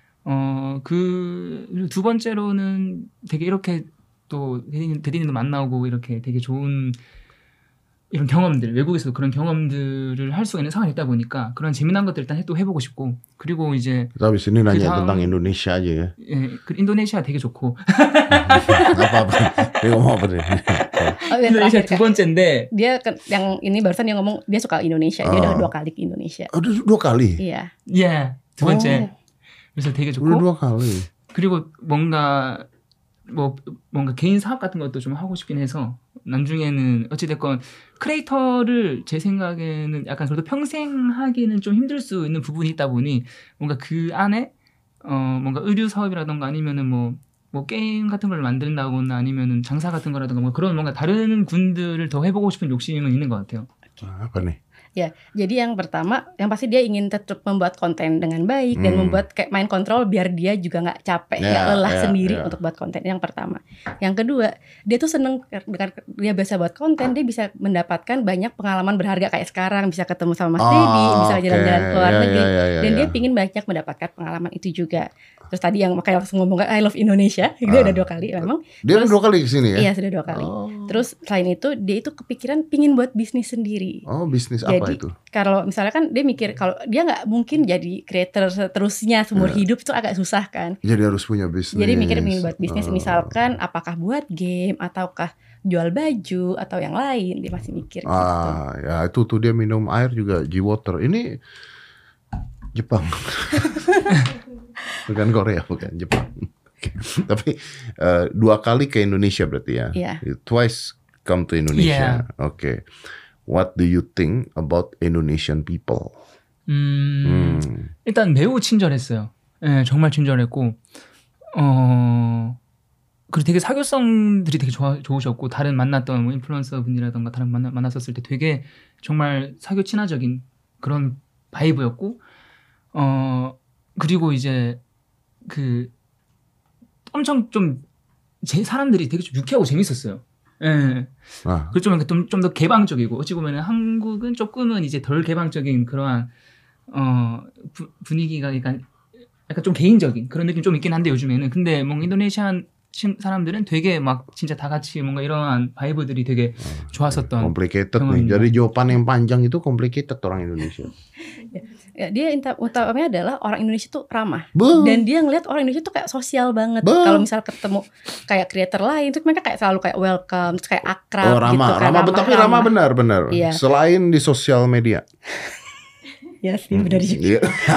그리고 두 번째로는 되게 이렇게 또 대리님도 만나고 이렇게 되게 좋은 이런 경험들, 외국에서도 그런 경험들을 할 수가 있는 상황이 있다 보니까 그런 재미난 것들 일단 또 해보고 싶고, 그리고 이제 Kita habis ini nanya 다음- tentang Indonesia aja ya. 그 인도네시아 되게 좋고, Apa-apa. Dia ngomong apa nih? Oh, yang 인도네시아 terakhir, 두 Kak. 번째인데, Dia yang ini barusan dia ngomong dia suka Indonesia. Dia udah 2 kali ke Indonesia. Udah 2 kali. Iya. 두 번째. 그래서 되게 좋고, Udah 2 kali. 그리고 뭔가 개인 사업 같은 것도 좀 하고 싶긴 해서 나중에는 어찌됐건 크리에이터를 제 생각에는 약간 그래도 평생 하기는 좀 힘들 수 있는 부분이 있다 보니 뭔가 그 안에 뭔가 의류 사업이라던가 아니면은 뭐 게임 같은 걸 만든다거나 아니면은 장사 같은 거라던가 뭐 그런 뭔가 다른 군들을 더 해보고 싶은 욕심은 있는 것 같아요. Apa nih? Ya, jadi yang pertama, yang pasti dia ingin tetap membuat konten dengan baik dan membuat kayak main kontrol biar dia juga nggak capek, nggak lelah sendiri untuk buat konten. Yang pertama. Yang kedua, dia tuh seneng dengan dia biasa buat konten, dia bisa mendapatkan banyak pengalaman berharga kayak sekarang, bisa ketemu sama Mas Dedi, bisa jalan-jalan ke luar negeri, dan dia pingin banyak mendapatkan pengalaman itu juga. Terus tadi yang makanya langsung ngomong I love Indonesia, dia udah 2 kali memang. Dia Terus, 2 kali kesini ya? Iya, sudah 2 kali. Terus selain itu, dia itu kepikiran pingin buat bisnis sendiri. Oh, bisnis apa Jadi, itu? kalau misalnya kan dia mikir kalau dia nggak mungkin jadi creator seterusnya seumur hidup itu agak susah kan. Jadi harus punya bisnis. Jadi mikir pengen buat bisnis misalkan apakah buat game ataukah jual baju atau yang lain, dia masih mikir gitu. Ya itu tuh dia minum air juga G-Water. Ini Jepang. Bukan Korea, bukan Jepang. Oke. Tapi 2 kali ke Indonesia berarti ya? Iya. Twice come to Indonesia. Oke. What do you think about Indonesian people? 일단 매우 친절했어요. 네, 정말 친절했고, 그리고 되게 사교성들이 되게 좋으셨고, 다른 만났던 뭐 인플루언서 분이라던가 다른 만났었을 때 되게 정말 사교 친화적인 그런 바이브였고, 그리고 이제 엄청 좀 제 사람들이 되게 좀 유쾌하고 재밌었어요. 예. 그리고 좀 더 개방적이고, 어찌 보면 한국은 조금은 이제 덜 개방적인 그러한 분위기가 약간 좀 개인적인 그런 느낌 좀 있긴 한데 요즘에는. 근데 뭔가 인도네시안 사람들은 되게 막 진짜 다 같이 뭔가 이러한 바이브들이 되게 좋았었던. Complicated nih. Jadi jawaban yang panjang itu complicated orang Indonesia. Ya, dia utamanya adalah orang Indonesia tuh ramah. Beuh. Dan dia ngeliat orang Indonesia tuh kayak sosial banget. Beuh. Kalau misal ketemu kayak creator lain tuh mereka kayak selalu kayak welcome, terus kayak akrab ramah, gitu kan. tapi ramah benar. Iya. Selain di sosial media. Ya sih, benar juga. Iya.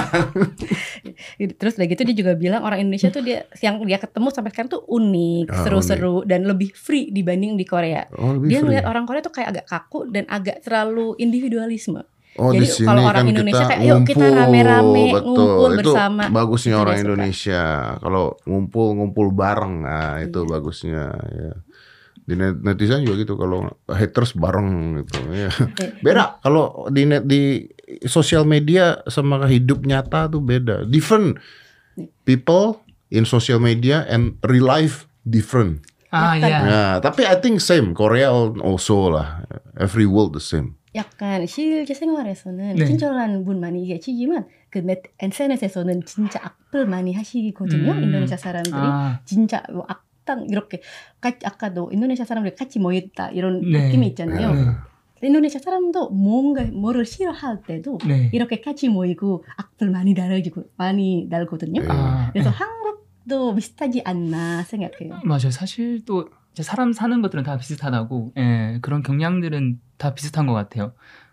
Terus udah gitu dia juga bilang orang Indonesia tuh yang dia ketemu sampai sekarang tuh unik, seru-seru dan lebih free dibanding di Korea. Dia ngeliat orang Korea tuh kayak agak kaku dan agak terlalu individualisme. Jadi di sini kalau orang kan Indonesia kita kayak yuk kita rame-rame ngumpul itu bersama. Bagusnya Itu orang dia suka. Indonesia. Kalau ngumpul bareng, nah itu bagusnya. Ya. Di netizen juga gitu, kalau haters bareng gitu. Ya. Beda kalau di sosial media sama hidup nyata tuh beda. Different people in social media and real life different. 아, 예. Ya, tapi I think same. Korea also lah. Every world the same. 약간 실제 생활에서는 네. 친절한 분 많이 계시지만 그 SNS에서는 진짜 악플 많이 하시거든요. 인도네시아 사람들이 아, 진짜 뭐 악당 이렇게 아까도 인도네시아 사람들이 같이 모였다 이런 네. 느낌이 있잖아요. 네. 인도네시아 사람도 뭐를 싫어할 때도 네. 이렇게 같이 모이고 악플 많이 달거든요. 네. 아, 그래서 한국도 비슷하지 않나 생각해요. 맞아요. 사실 또 이제 사람 사는 것들은 다 비슷하다고, 예, 그런 경향들은 다 비슷한 것 같아요.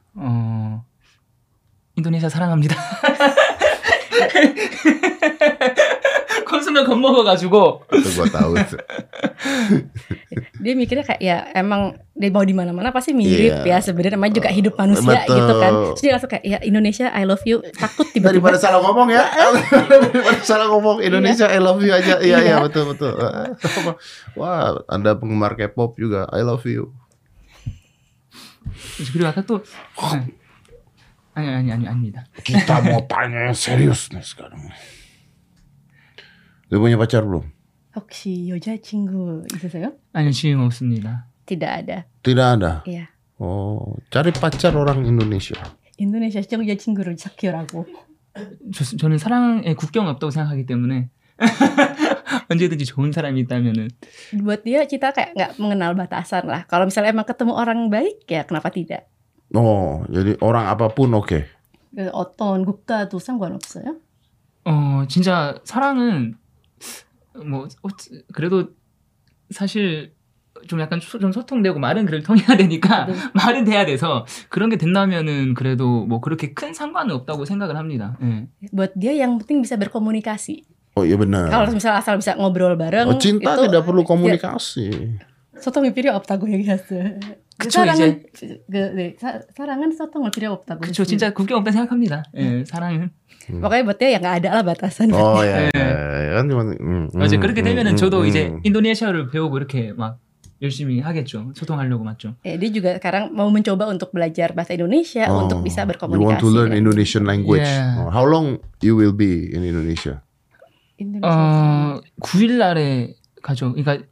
인도네시아 사랑합니다. 그 순간 겁먹어가지고. Itu gua tahu tuh. Dia mikirnya kayak ya emang dia mau di mana-mana pasti mirip Iya. ya sebenarnya namanya juga hidup manusia Betul. gitu kan. Terus dia langsung kayak ya Indonesia I love you, takut Daripada tiba-tiba salah ngomong ya. Daripada salah ngomong Indonesia I love you aja. Iya, Iya. betul. Wah, Anda penggemar K-pop juga. I love you. 그리고 아까 또 아닙니다. Kita mau tanya yang serius nih sekarang. Lu punya pacar belum? 혹시 여자친구 있으세요? 아니요, 지금 없습니다. Tidak ada. Tidak ada. Iya. Oh, cari pacar orang Indonesia. 인도네시아 여자친구를 찾기라고. 저는 사랑에 국경 없다고 생각하기 때문에 언제든지 좋은 사람이 있다면은. Buat dia kita kayak nggak mengenal batasan lah. Kalau misalnya emang ketemu orang baik ya kenapa tidak? Oh, jadi orang apapun oke. 어떤 국가도 상관없어요? 진짜 사랑은 뭐 그래도 사실 좀 약간 좀 소통되고 말은 그래도 통해야 되니까 네. 말은 돼야 돼서 그런 게 된다면은 그래도 뭐 그렇게 큰 상관은 없다고 생각을 합니다. 예. Buat dia yang penting bisa berkomunikasi. Oh iya benar. Kalau misalnya asal bisa ngobrol bareng Oh, cinta itu tidak perlu komunikasi. 소통이 필요 없다고 얘기했어요. 그쵸, 사랑은 소통을 필요 없다고. 그쵸, 했어요. 진짜 국경 없다 생각합니다. 예, 사랑은. Pokoknya buat dia ya nggak ada lah batasan. Oh ya, 네. kan cuma. 맞아요. 그렇게 되면은 저도 이제 인도네시아를 배우고 이렇게 막 열심히 하겠죠. 소통하려고 맞죠. Dia juga sekarang mau mencoba untuk belajar bahasa Indonesia untuk bisa You want berkomunikasi. to learn kan. Indonesian language. Yeah. How long you will be in Indonesia? Indonesia. 9일 날에 가죠. 그러니까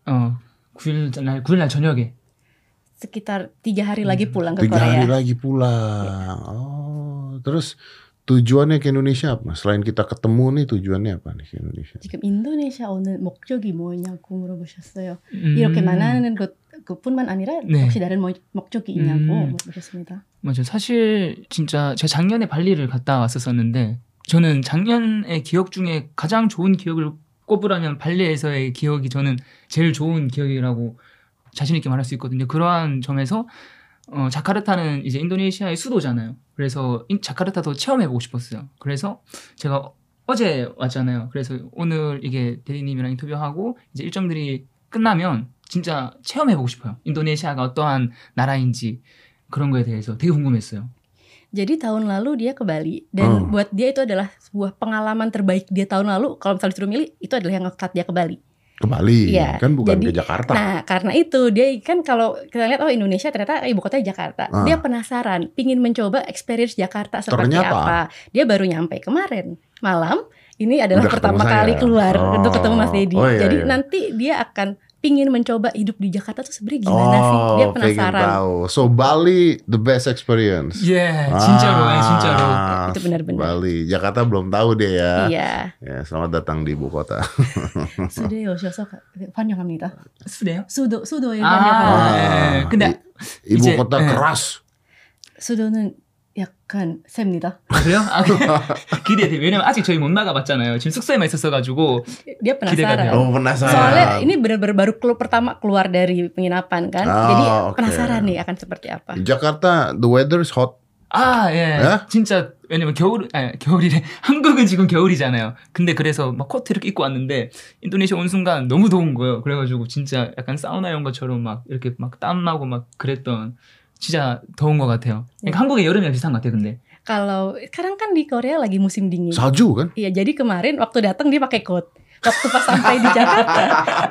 9일 날 저녁에. Sekitar 3 hari lagi pulang ke 3 hari Korea. lagi pulang. Oh, terus tujuannya ke Indonesia apa? Selain kita ketemu nih, tujuannya apa nih ke Indonesia? 지금 인도네시아 오는 목적이 뭐냐고 물어보셨어요. 이렇게 만나는 그뿐만 아니라 네. 혹시 다른 목적이 있냐고 물어보셨습니다. 맞아요. 사실 진짜 제가 작년에 발리를 갔다 왔었었는데 저는 작년의 기억 중에 가장 좋은 기억을 꼽으라면 발리에서의 기억이 저는 제일 좋은 기억이라고 자신 있게 말할 수 있거든요. 그러한 점에서 자카르타는 이제 인도네시아의 수도잖아요. 그래서 자카르타도 체험해보고 싶었어요. 그래서 제가 어제 왔잖아요. 그래서 오늘 이게 대리님이랑 인터뷰하고 이제 일정들이 끝나면 진짜 체험해보고 싶어요. 인도네시아가 어떠한 나라인지 그런 거에 대해서 되게 궁금했어요. Jadi tahun lalu dia ke Bali dan buat dia itu adalah sebuah pengalaman terbaik dia tahun lalu. Kalau misalnya disuruh milih, itu adalah yang saat dia ke Bali. Ke Bali, Iya, kan bukan jadi- ke Jakarta. Nah, karena itu dia kan kalau kita lihat Indonesia ternyata ibu kotanya Jakarta. Dia penasaran, pingin mencoba experience Jakarta seperti Ternyata. apa. Dia baru nyampe kemarin malam. Ini adalah Udah pertama ketemu kali saya. keluar Oh. untuk ketemu Mas Dedi. Oh, iya, Jadi iya. nanti dia akan pingin mencoba hidup di Jakarta tuh sebenarnya gimana sih? Dia pengen penasaran. tahu. So Bali the best experience. 예, 진짜로, 진짜로. Itu benar-benar. Bali, Jakarta belum tahu deh ya. Iya. Ya, selamat datang di ibu kota. 수도에 오셔서 환영합니다. 수대요? 수도에 아, 환영합니다. 예. 근데 Ibu 이제, kota 예. keras. 수도는 약간 셉니다. 아, 그래요? 기대돼. 왜냐면 아직 저희 못 나가봤잖아요. 지금 숙소에만 있었어가지고. Dia penasaran. 돼요. Oh, penasaran. Soalnya ini benar-benar baru pertama keluar dari penginapan kan. Oh, Jadi oke. penasaran nih akan seperti apa. Jakarta the weather is hot. 아, 예. 예? 진짜, 왜냐면 겨울이래. 한국은 지금 겨울이잖아요. 근데 그래서 막 코트 이렇게 입고 왔는데, 인도네시아 온 순간 너무 더운 거예요. 그래가지고 진짜 약간 사우나 온 것처럼 막 이렇게 막 땀나고 막 그랬던, 진짜 더운 것 같아요. 그러니까 한국의 여름이랑 비슷한 것 같아요, 근데. Kalau sekarang kan di Korea lagi musim dingin. Salju kan? Iya, jadi kemarin waktu datang dia pakai coat. Waktu pas sampai di Jakarta,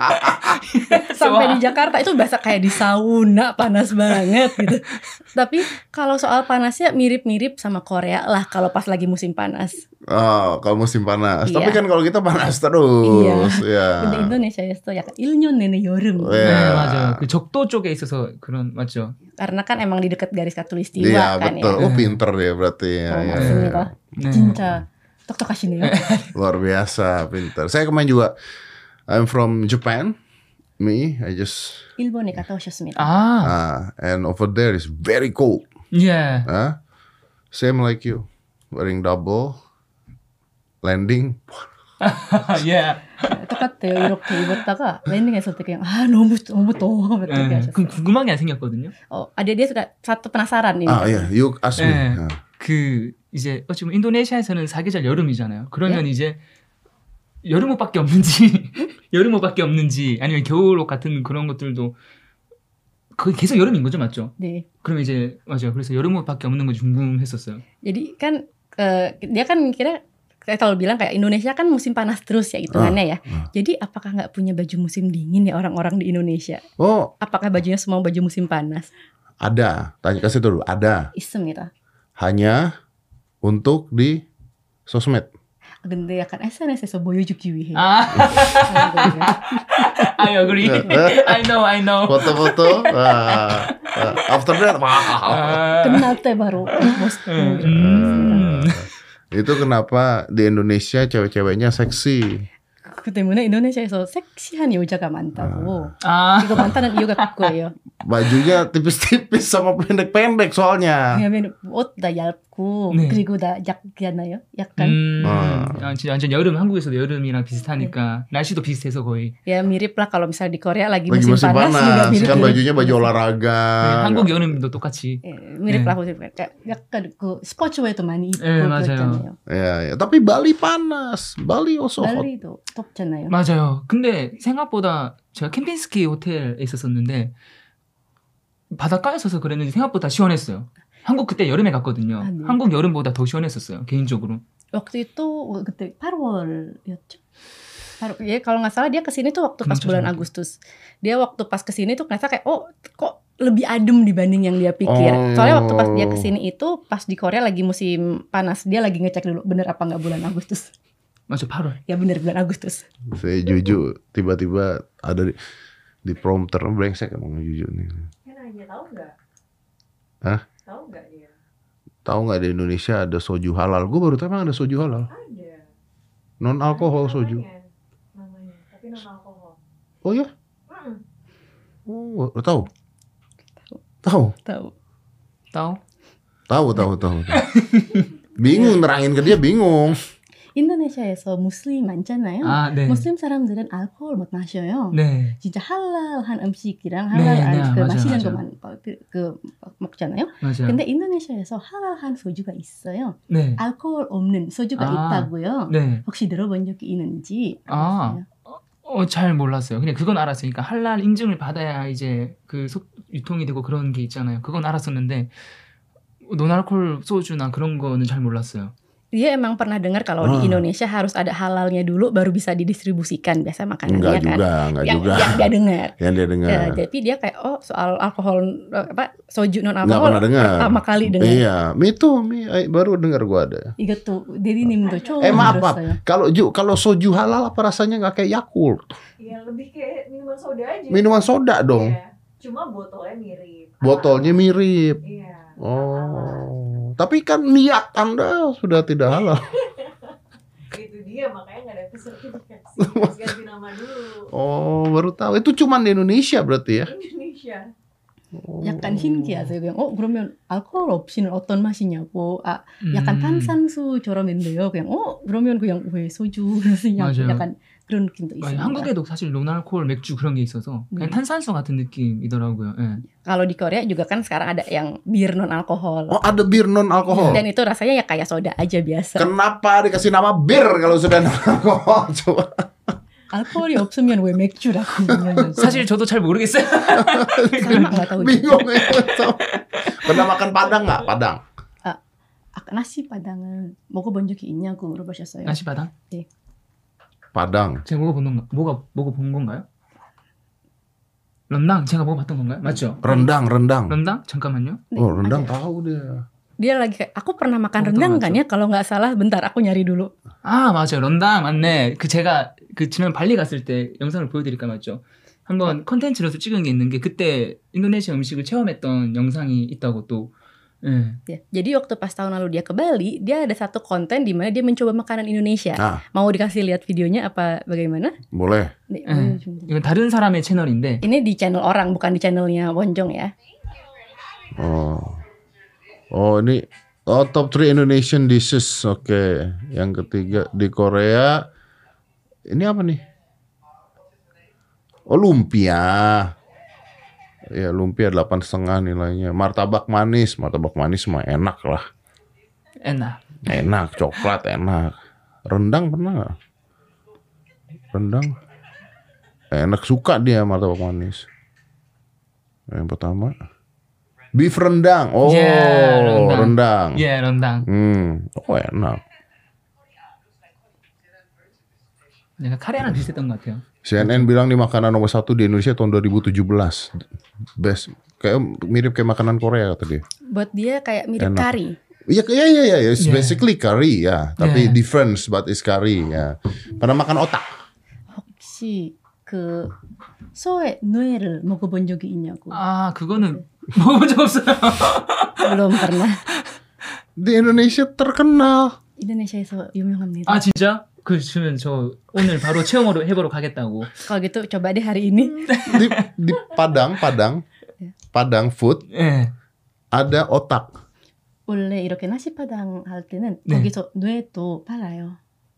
sampai di Jakarta itu berasa kayak di sauna, panas banget gitu. Tapi kalau soal panasnya mirip-mirip sama Korea lah kalau pas lagi musim panas. Oh, kalau musim panas. Iya. Tapi kan kalau kita panas terus. Ya. 근데 인도네시아에서 약간 1년 내내 여름. 네. 네, 맞아요. 그 적도 쪽에 있어서 그런 맞죠. karena kan emang di dekat garis khatulistiwa Iya, kan betul. ya. Oh, pinter dia berarti ya. Oh, Ya, 맞습니다. 네. 진짜 똑똑하시네요. Luar biasa, pinter. Saya kemarin juga I'm from Japan. I just 일본에 갔다 오셨습니다. and over there is very cold. 예. Same like you. Wearing double landing. 예. 똑같대요. 이렇게 입었다가 랜딩했을 때 그냥 너무 더워 이렇게 하셨어요. 그럼 궁금한 게 하나 생겼거든요. dia sudah satu penasaran ini. Yeah, you ask me. 네. 그 이제 어찌 보면 인도네시아에서는 사계절 여름이잖아요. 그러면 이제 여름옷밖에 없는지 여름옷밖에 없는지 아니면 겨울옷 같은 그런 것들도 거의 계속 여름인 거죠, 맞죠? 네. 그럼 이제 맞아요. 그래서 여름옷밖에 없는 건지 궁금했었어요. Jadi kan dia kan mikirnya saya selalu bilang kayak Indonesia kan musim panas terus ya hitungannya ya. Jadi apakah nggak punya baju musim dingin ya orang-orang di Indonesia? Oh, Apakah bajunya semua baju musim panas? ada. Tanya kasih dulu. Ada. 있습니다. Hanya untuk di sosmed. 근데 약간 SNS에서 보여주기 위해. I agree. I know. Foto-foto. After that, wow. Kenal teh baru bosku. Itu kenapa di Indonesia cewek-ceweknya seksi. 그 때문에 인도네시아에서 섹시한 여자가 많다고. 아. 이거 많다는 이유가 그거예요. Bajunya tipis-tipis sama pendek-pendek soalnya. 왜냐면 옷 다 얇고 네. 그리고 다 얇잖아요. 약간 진짜 완전 여름 한국에서도 여름이랑 비슷하니까 날씨도 비슷해서 거의. ya mirip lah kalau misalnya di Korea lagi Lagi musim musim panas juga panas. mirip. Kan bajunya baju olahraga. 네, 한국 여름도 똑같이. mirip 네. lah kayak 약간 그 스포츠웨어도 많이 입고 네, 맞아요. 그랬잖아요. Ya. Tapi Bali panas. Bali also hot. 발리도 덥잖아요. 맞아요. 근데 생각보다 제가 캠핑스키 호텔에 있었었는데 바닷가에 있어서 그랬는지 생각보다 시원했어요. 한국 그때 여름에 갔거든요. 아, 네. 한국 여름보다 더 시원했었어요. 개인적으로. waktu itu 그때 8월이었죠. Kalau nggak salah dia kesini tuh waktu pas bulan Agustus. Dia waktu pas kesini tuh ngerasa kayak kok lebih adem dibanding yang dia pikir. Soalnya waktu pas dia kesini itu pas di Korea lagi musim panas. Dia lagi ngecek dulu bener apa nggak bulan Agustus. 맞아, 8월. Ya bener bulan Agustus. Saya Juju tiba-tiba ada di prompter brengsek emang Juju nih. Nanya tahu nggak? Hah? Tahu nggak dia? Tahu nggak di Indonesia ada soju halal? Gue baru tahu emang ada soju halal. Ada. Non alkohol soju. Namanya, tapi non alkohol. Oh ya? Oh, tahu? Tahu? Tahu. Bingung nerangin ke dia bingung. 인도네시아에서 무슬림 많잖아요. 아, 네. 무슬림 사람들은 알코올 못 마셔요. 네. 진짜 할랄한 음식이랑 네, 할랄한 네, 그 맞아요, 마시는 맞아요. 것만 먹잖아요. 맞아요. 근데 인도네시아에서 할랄한 소주가 있어요. 네. 알코올 없는 소주가 아, 있다고요. 네. 혹시 들어본 적이 있는지 아. 아세요? 잘 몰랐어요. 그냥 그건 알았어요. 그러니까 할랄 인증을 받아야 이제 그 유통이 되고 그런 게 있잖아요. 그건 알았었는데 노알콜 소주나 그런 거는 잘 몰랐어요. Dia emang pernah dengar kalau di Indonesia harus ada halalnya dulu baru bisa didistribusikan biasa makanannya Enggak kan. juga. Yang dia dengar. Yang dia dengar. Ya, jadi dia kayak soal alkohol soju non Nggak alkohol pernah dengar. pertama kali dengar. Iya, baru dengar gua ada. 이것도 대리님도 처음 Maaf. 들었어요. Kalau soju halal apa rasanya nggak kayak Yakult? Ya lebih kayak minuman soda aja. Minuman soda dong. Iya. Cuma botolnya mirip. Botolnya mirip. Iya. Oh, tapi kan niat Anda sudah tidak halal. Itu dia makanya nggak ada sertifikasi. Harus ganti nama dulu. Oh, baru tahu. Itu cuma di Indonesia berarti ya? Indonesia. 약간 신기하세요. 그냥 그러면 알코올 없이는 어떤 맛이냐고. 약간 탄산수처럼인데요. 그냥 그러면 그냥 왜 소주 그러시냐고. 맞아요. 약간 그런 느낌도 있습니다. 한국에도 사실 노알콜 맥주 그런 게 있어서 그냥 탄산수 같은 느낌이더라고요. 예. Kalau di Korea juga kan sekarang ada yang bir non alkohol. Oh, ada bir non alkohol. Dan itu rasanya ya kayak soda aja biasa. Kenapa dikasih nama bir kalau sudah non alkohol? Coba. 알코올이 없으면 왜 맥주라고? 사실 저도 잘 모르겠어요. sama nggak tahu. Bingung ya. Pernah makan padang nggak? Padang. nasi padang을 먹어본 적이 있냐고 물어보셨어요. 나시 바당? 네. Padang. 제가 먹어본 건가요? 런당 제가 먹어봤던 건가요? 맞죠? Rendang. 런당? 잠깐만요. 네, Oh, rendang ada. tahu dia. dia lagi kayak aku pernah makan Oh, rendang betul, kan ya kalau nggak salah. Bentar aku nyari dulu. 아, 맞아요. 런당 맞네. 그 제가 그 지난 발리 갔을 때 영상을 보여드릴까 맞죠? 한번 컨텐츠로서 찍은 게 있는 게 그때 인도네시아 음식을 체험했던 영상이 있다고 또. 예. Ya, jadi waktu pas tahun lalu dia ke Bali, dia ada satu konten di mana dia mencoba makanan Indonesia. Ah. Mau dikasih lihat videonya apa bagaimana? Boleh. Nih, 예. 이건 다른 사람의 채널인데. ini di channel orang bukan di channelnya Wonjong ya. Ini top 3 Indonesian dishes. Oke. Yang ketiga di Korea. Ini apa nih? Oh, lumpia. Ya, lumpia 8,5 nilainya. Martabak manis mah enak lah. 에나. Enak, coklat enak. Rendang pernah nggak? Rendang enak, suka dia martabak manis. Yang pertama beef rendang. Oh, Yeah, rendang. 예, 런당. Oh enak. 내가 카레랑 비슷했던 것 같아요. CNN bilang nih makanan nomor 1 di Indonesia tahun 2017. Best, kayak mirip kayak makanan Korea kata dia. Buat dia kayak mirip Enak. kari. Iya, it's Yeah. basically curry ya, tapi Yeah. difference but it's curry ya. Pernah makan otak? 혹시 그 소의 뇌를 먹어본 적이 있냐고. 아, 그거는 먹어본 적 없어요. belum pernah. Di Indonesia terkenal. Indone시아에서 유명합니다. 아, 진짜? 그러면 저 오늘 바로 체험으로 해보러 가겠다고. Kalau gitu coba deh hari ini. Di Padang food 예. ada otak. 원래 이렇게 나시파당 할 때는 네. 거기서 뇌도 팔아요.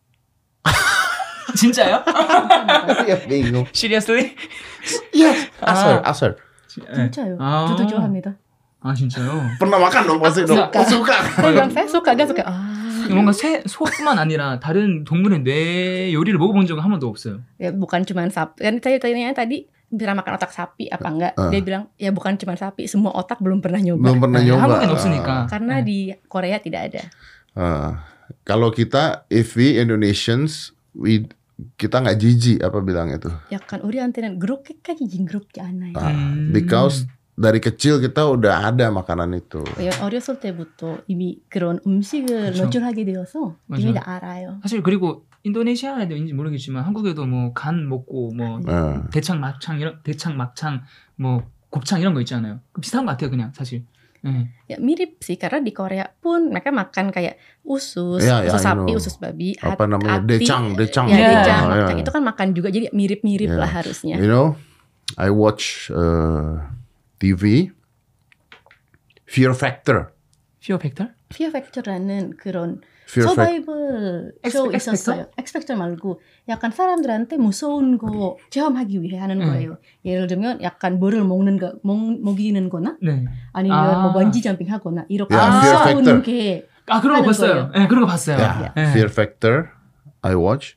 진짜요? Iya bingung. Seriously? Yes, asar. 예. 진짜요. 아. 저도 좋아합니다. 아, 진짜요? Pernah makan dong pasti dong. Suka. saya bilang saya suka, dia suka. 뭔가 소뿐만 아니라 다른 동물의 뇌 요리를 먹어본 적은 한 번도 없어요. Ya bukan cuma sapi. Kan tadi pernah makan otak sapi apa enggak? Dia bilang ya bukan cuma sapi, semua otak belum pernah nyoba. Belum pernah nyoba. 한국엔 없으니까. Karena di Korea tidak ada. Kalau kita, if we Indonesians, kita nggak jijik apa bilang itu. 약간 우리한테는 그렇게까지 징그럽지 않아요. Because dari kecil kita udah ada makanan itu. 어렸을 때부터 이미 그런 음식을 그쵸. 노출하게 되어서 맞아. 이미 다 알아요. 사실 그리고 인도네시아에도인지 모르겠지만 한국에도 뭐 간 먹고 뭐 대창 막창 뭐 곱창 이런 거 있잖아요. 비슷한 것 같아요, 그냥 사실. 예. Ya mirip sih karena di Korea pun mereka makan kayak usus, Ya, usus I sapi, know. usus babi, Apa namanya? hati. Decang. Ya, Yeah. decang, Oh, makang. yeah. Itu kan makan juga jadi mirip-mirip Yeah. lah harusnya. You know, I watch TV, Fear Factor. Fear Factor? Fear Factor라는 그런 Fear Factor. 서바이벌 X 쇼 Factor? 있었어요. X Factor 말고 약간 사람들한테 무서운 거 체험하기 위해 하는 거예요. 예를 들면 약간 뭐를 먹이는 거나 네. 아니면 아. 뭐 번지 점핑 하거나 이렇게 Yeah, Fear 무서운 Factor. 게 아, 그런 거 하는 봤어요. 거예요. 예, 그런 거 봤어요. Yeah, 예. Fear Factor. I watch.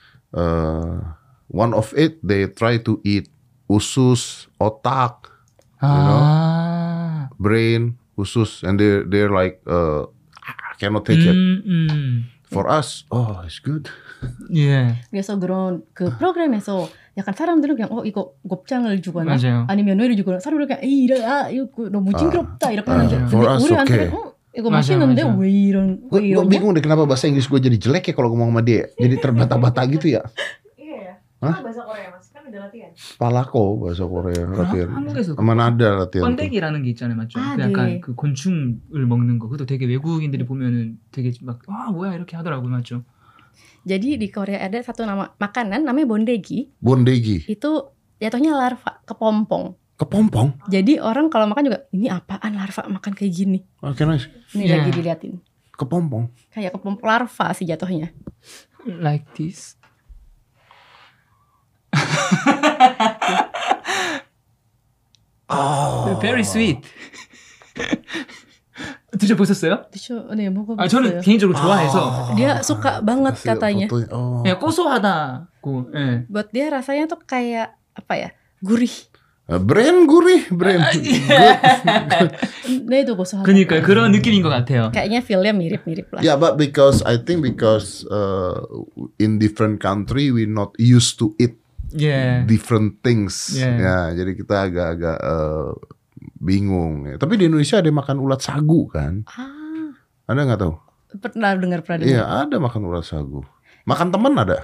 One of it, they try to eat usus, otak, 아. brain, usus, and they're like, I cannot take it. For us, oh, it's good. 예. 그래서 그런 그 프로그램에서 약간 사람들은 그냥 이거 곱창을 주거나 맞아요. 아니면 뇌를 주거나 사람들은 그냥 에이 이거 너무 징그럽다 이렇게 하는데 근데 For us, 우리한테는 okay. 이거 맞아, 맛있는데 맞아. 왜 이런 Gue bingung deh kenapa bahasa Inggris gue jadi jelek ya kalau ngomong sama dia. Jadi terbata-bata gitu ya. Iya ya. Hah? Itu bahasa Korea mas, kan udah latihan. Palako bahasa Korea latihan. 한국에서 Sama nada latihan. tuh. 번데기라는 게 있잖아요, 맞죠? 아, 그 약간 네. 그 곤충을 먹는 거. 그것도 되게 외국인들이 보면은 되게 막 뭐야 이렇게 하더라고요, 맞죠? jadi di Korea ada satu nama makanan namanya bondegi Bondegi. itu jatuhnya larva kepompong Kepompong. jadi orang kalau makan juga ini apaan larva makan kayak gini Oke, nice. ini Yeah. lagi diliatin Kepompong. kayak kepompong larva sih jatuhnya Like this. Very sweet. 드셔보셨어요? 네 먹어봤어요 아, 저는 개인적으로 좋아해서 dia suka banget Kasih katanya fotonya. Oh. 그냥 고소하다고. 예. buat dia rasanya tuh kayak apa ya gurih Brand gurih, brand. 뇌도 고소하다 그러니까 그런 느낌인 것 같아요. kayaknya feelnya mirip-mirip lah Yeah, but because in different country we not used to eat 예. different things. Yeah. Ya, jadi kita agak-agak bingung. Tapi di Indonesia ada makan ulat sagu kan? Ada nggak tahu? Pernah dengar. Iya, ada makan urat sagu. Makan temen ada.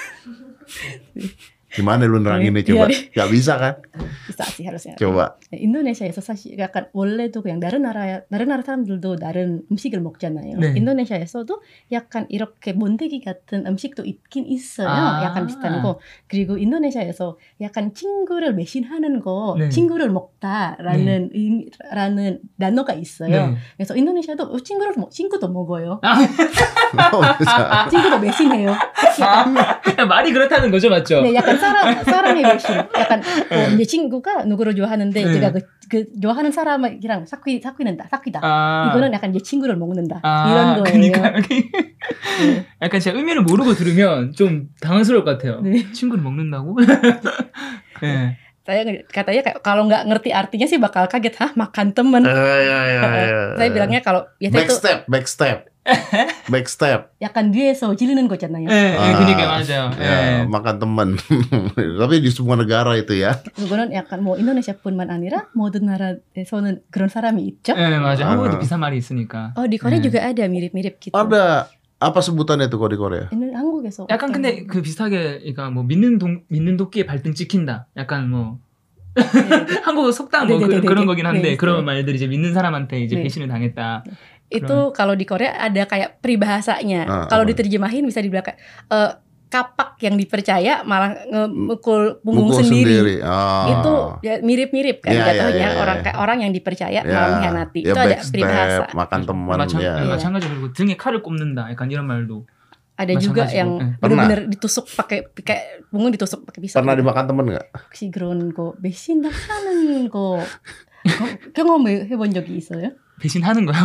Gimana lu neranginnya coba? Gak bisa kan? Bisa sih harusnya. Coba. 인도네시아에서 사실 약간 원래도 그냥 다른 나라 사람들도 다른 음식을 먹잖아요. 네. 인도네시아에서도 약간 이렇게 번데기 같은 음식도 있긴 있어요. 약간 비슷한 거. 그리고 인도네시아에서 약간 친구를 매신하는 거, 네. 친구를 먹다라는 라는 단어가 있어요. 네. 그래서 인도네시아도 친구도 먹어요. Bisa. 친구도 매신해요. 말이 그렇다는 거죠, 맞죠? 네, 약간 사랑의 매신. 약간 이제 친구가 누구를 좋아하는데 네. 제가 그 좋아하는 사람이랑 사귀다. 이거는 약간 이제 친구를 먹는다. 이런 거예요. 그러니까 약간 제가 의미를 모르고 들으면 좀 당황스러울 것 같아요. 네. 친구를 먹는다고? 네. Saya katanya kalau nggak ngerti artinya sih bakal kaget, makan temen. Saya bilangnya kalau biasanya itu Backstep. 약간 뒤에서 지르는 거잖아요. 네, 그러니까 맞아요. Ya, 네. makan temen. Tapi di semua negara itu ya. 그거는 약간 뭐 인도네시아뿐만 아니라 모든 나라에서는 그런 사람이 있죠. 네, 맞아요. 한국에도 비슷한 말이 있으니까. di Korea 네. juga ada mirip-mirip gitu. Ada apa sebutannya tuh kalau di Korea? ini 한국에서 약간 근데 그 비슷하게 그러니까 뭐 믿는 도끼에 발등 찍힌다. 약간 뭐 한국어 속담 뭐 네네네네. 그런 거긴 한데 네, 그런 네. 말들이 이제 믿는 사람한테 이제 네. 배신을 당했다. itu kalau di Korea ada kayak peribahasanya. Kalau apa? diterjemahin bisa dibilang kayak kapak yang dipercaya malah mukul punggung Mukul sendiri. Ah. Itu ya mirip-mirip kan Ya, jatuhnya ya, ya, orang ya. kayak orang yang dipercaya Ya, malah mengkhianati. ya Itu ada backstep, peribahasa. makan teman ya. 마찬가지로 그리고 등에 칼을 꼽는다. 약간 이런 말도. Ada juga 마찬가지고. yang 네. benar-benar ditusuk pakai kayak punggung ditusuk pakai pisau. Pernah dimakan temen nggak? 혹시 그런 거 배신당하는 거 경험해본 적이 있어요? 배신하는 거요?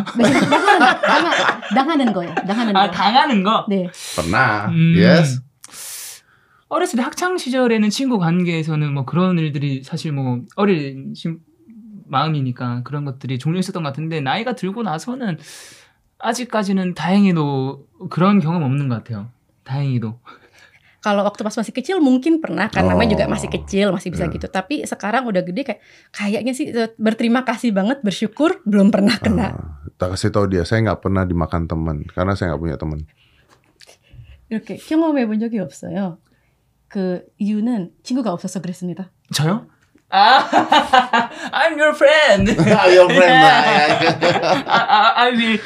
당하는 거요. 당하는 거. 아 당하는 거? 네. Pernah. Yes. 어렸을 때 학창 시절에는 친구 관계에서는 뭐 그런 일들이 사실 뭐 어린 마음이니까 그런 것들이 종종 있었던 것 같은데 나이가 들고 나서는 아직까지는 다행히도 그런 경험 없는 것 같아요. 다행히도. Kalau waktu pas masih kecil mungkin pernah kan namanya juga masih kecil masih bisa gitu. Tapi sekarang udah gede kayaknya sih berterima kasih banget bersyukur belum pernah kena. Tak kasih tahu dia saya nggak pernah dimakan teman karena saya nggak punya teman. 이렇게 경험해본 적이 없어요. 그 이유는 친구가 없어서 그랬습니다. 저요? I'm your friend. Your friend lah. I will.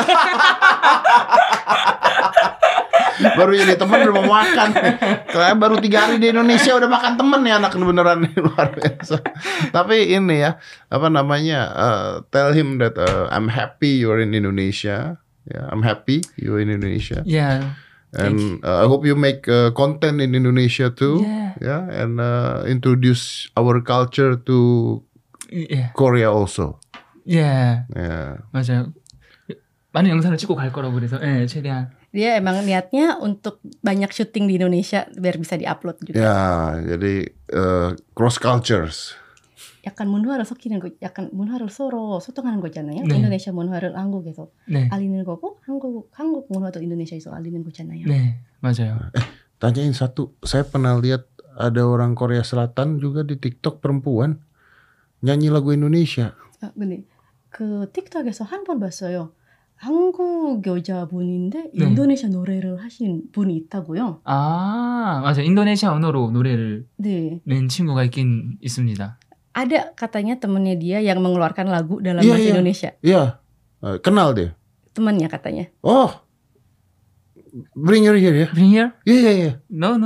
Baru jadi teman udah mau makan. Kayak baru 3 hari di Indonesia udah makan temen ya anak beneran luar biasa. Tapi ini ya apa namanya tell him that I'm happy you're in Indonesia. Yeah, I'm happy you're in Indonesia. Yeah. And I hope you make content in Indonesia too. Yeah. And introduce our culture to Yeah. Korea also. Yeah. Yeah. 맞아요. 많은 영상을 찍고 갈 거라고 그래서 최대한. Dia emang niatnya untuk banyak syuting di Indonesia biar bisa diupload juga. Ya, jadi cross cultures. 약간 문화를 섞이는 거, 약간 문화를 서로 소통하는 거잖아요. 네. 인도네시아 문화를 한국에서 네. 알리는 거고, 한국 문화도 인도네시아에서 알리는 거잖아요. 네, 맞아요. Tanyain satu, saya pernah lihat ada orang Korea Selatan juga di TikTok perempuan nyanyi lagu Indonesia. 근데 그 틱톡에서 한 번 봤어요. 한국 여자분인데 네. 인도네시아 노래를 하신 분이 있다고요. 아, 맞아요. 인도네시아 언어로 노래를 네. 낸 친구가 있긴 있습니다. Ada katanya temennya dia yang mengeluarkan lagu dalam bahasa Indonesia. Iya, kenal dia. Temannya katanya. Oh, bring her here ya. Bring here? Iya. No.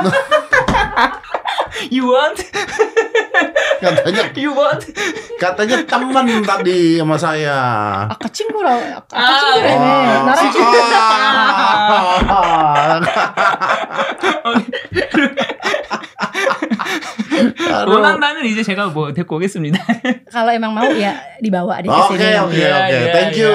You want? Katanya, You want? katanya teman tadi sama saya. 아까 친구라. 아까 친구라며. 나랑 친구. 원한다면 이제 제가 뭐 데리고 오겠습니다. Kalau emang mau ya dibawa di Oke. kesini. Thank you.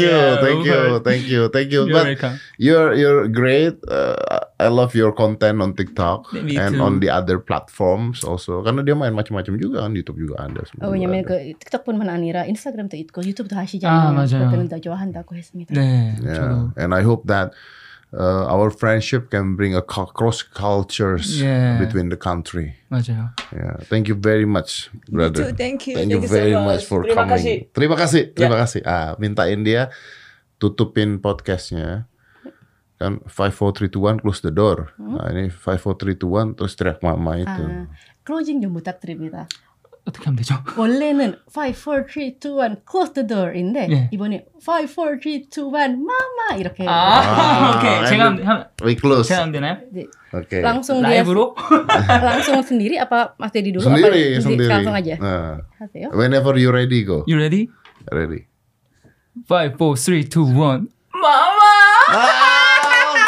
You're But welcome. you're great. I love your content on TikTok Me and too. on the other platforms also. Karena dia main macam-macam juga kan, YouTube juga ada. semua juga 왜냐면 ada. 그 틱톡뿐만 아니라 인스타그램도 있고 유튜브도 하시잖아요. 맞아요. 그때는 다 좋아한다고 했습니다. 네, Yeah. 저도. And I hope that our friendship can bring a cross cultures Yeah. between the country. 맞아요. Yeah. Thank you very much, brother. Thank you. Thank you very much for coming. Terima kasih. Mintain dia tutupin podcastnya. Kan 5, 4, 3, 2, 1 close the door. Nah ini 5, 4, 3, 2, 1 terus teriak mama itu. 클로징 좀 부탁드립니다. 어떻게 하면 되죠? 원래는 5, 4, 3, 2, 1 close the door인데 예. 이번에 5, 4, 3, 2, 1 마마 이렇게 오케이. 제가 하면 We close. 제가 하면 되나요? 네. Oke. langsung dia 라이브로? langsung sendiri apa Mas Dedi dulu Sendiri, apa sendiri. langsung aja Nah, 하세요? whenever you ready go. You ready? Ready. 5, 4, 3, 2, 1 마마!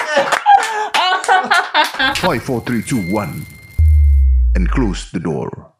5, 4, 3, 2, 1. And close the door.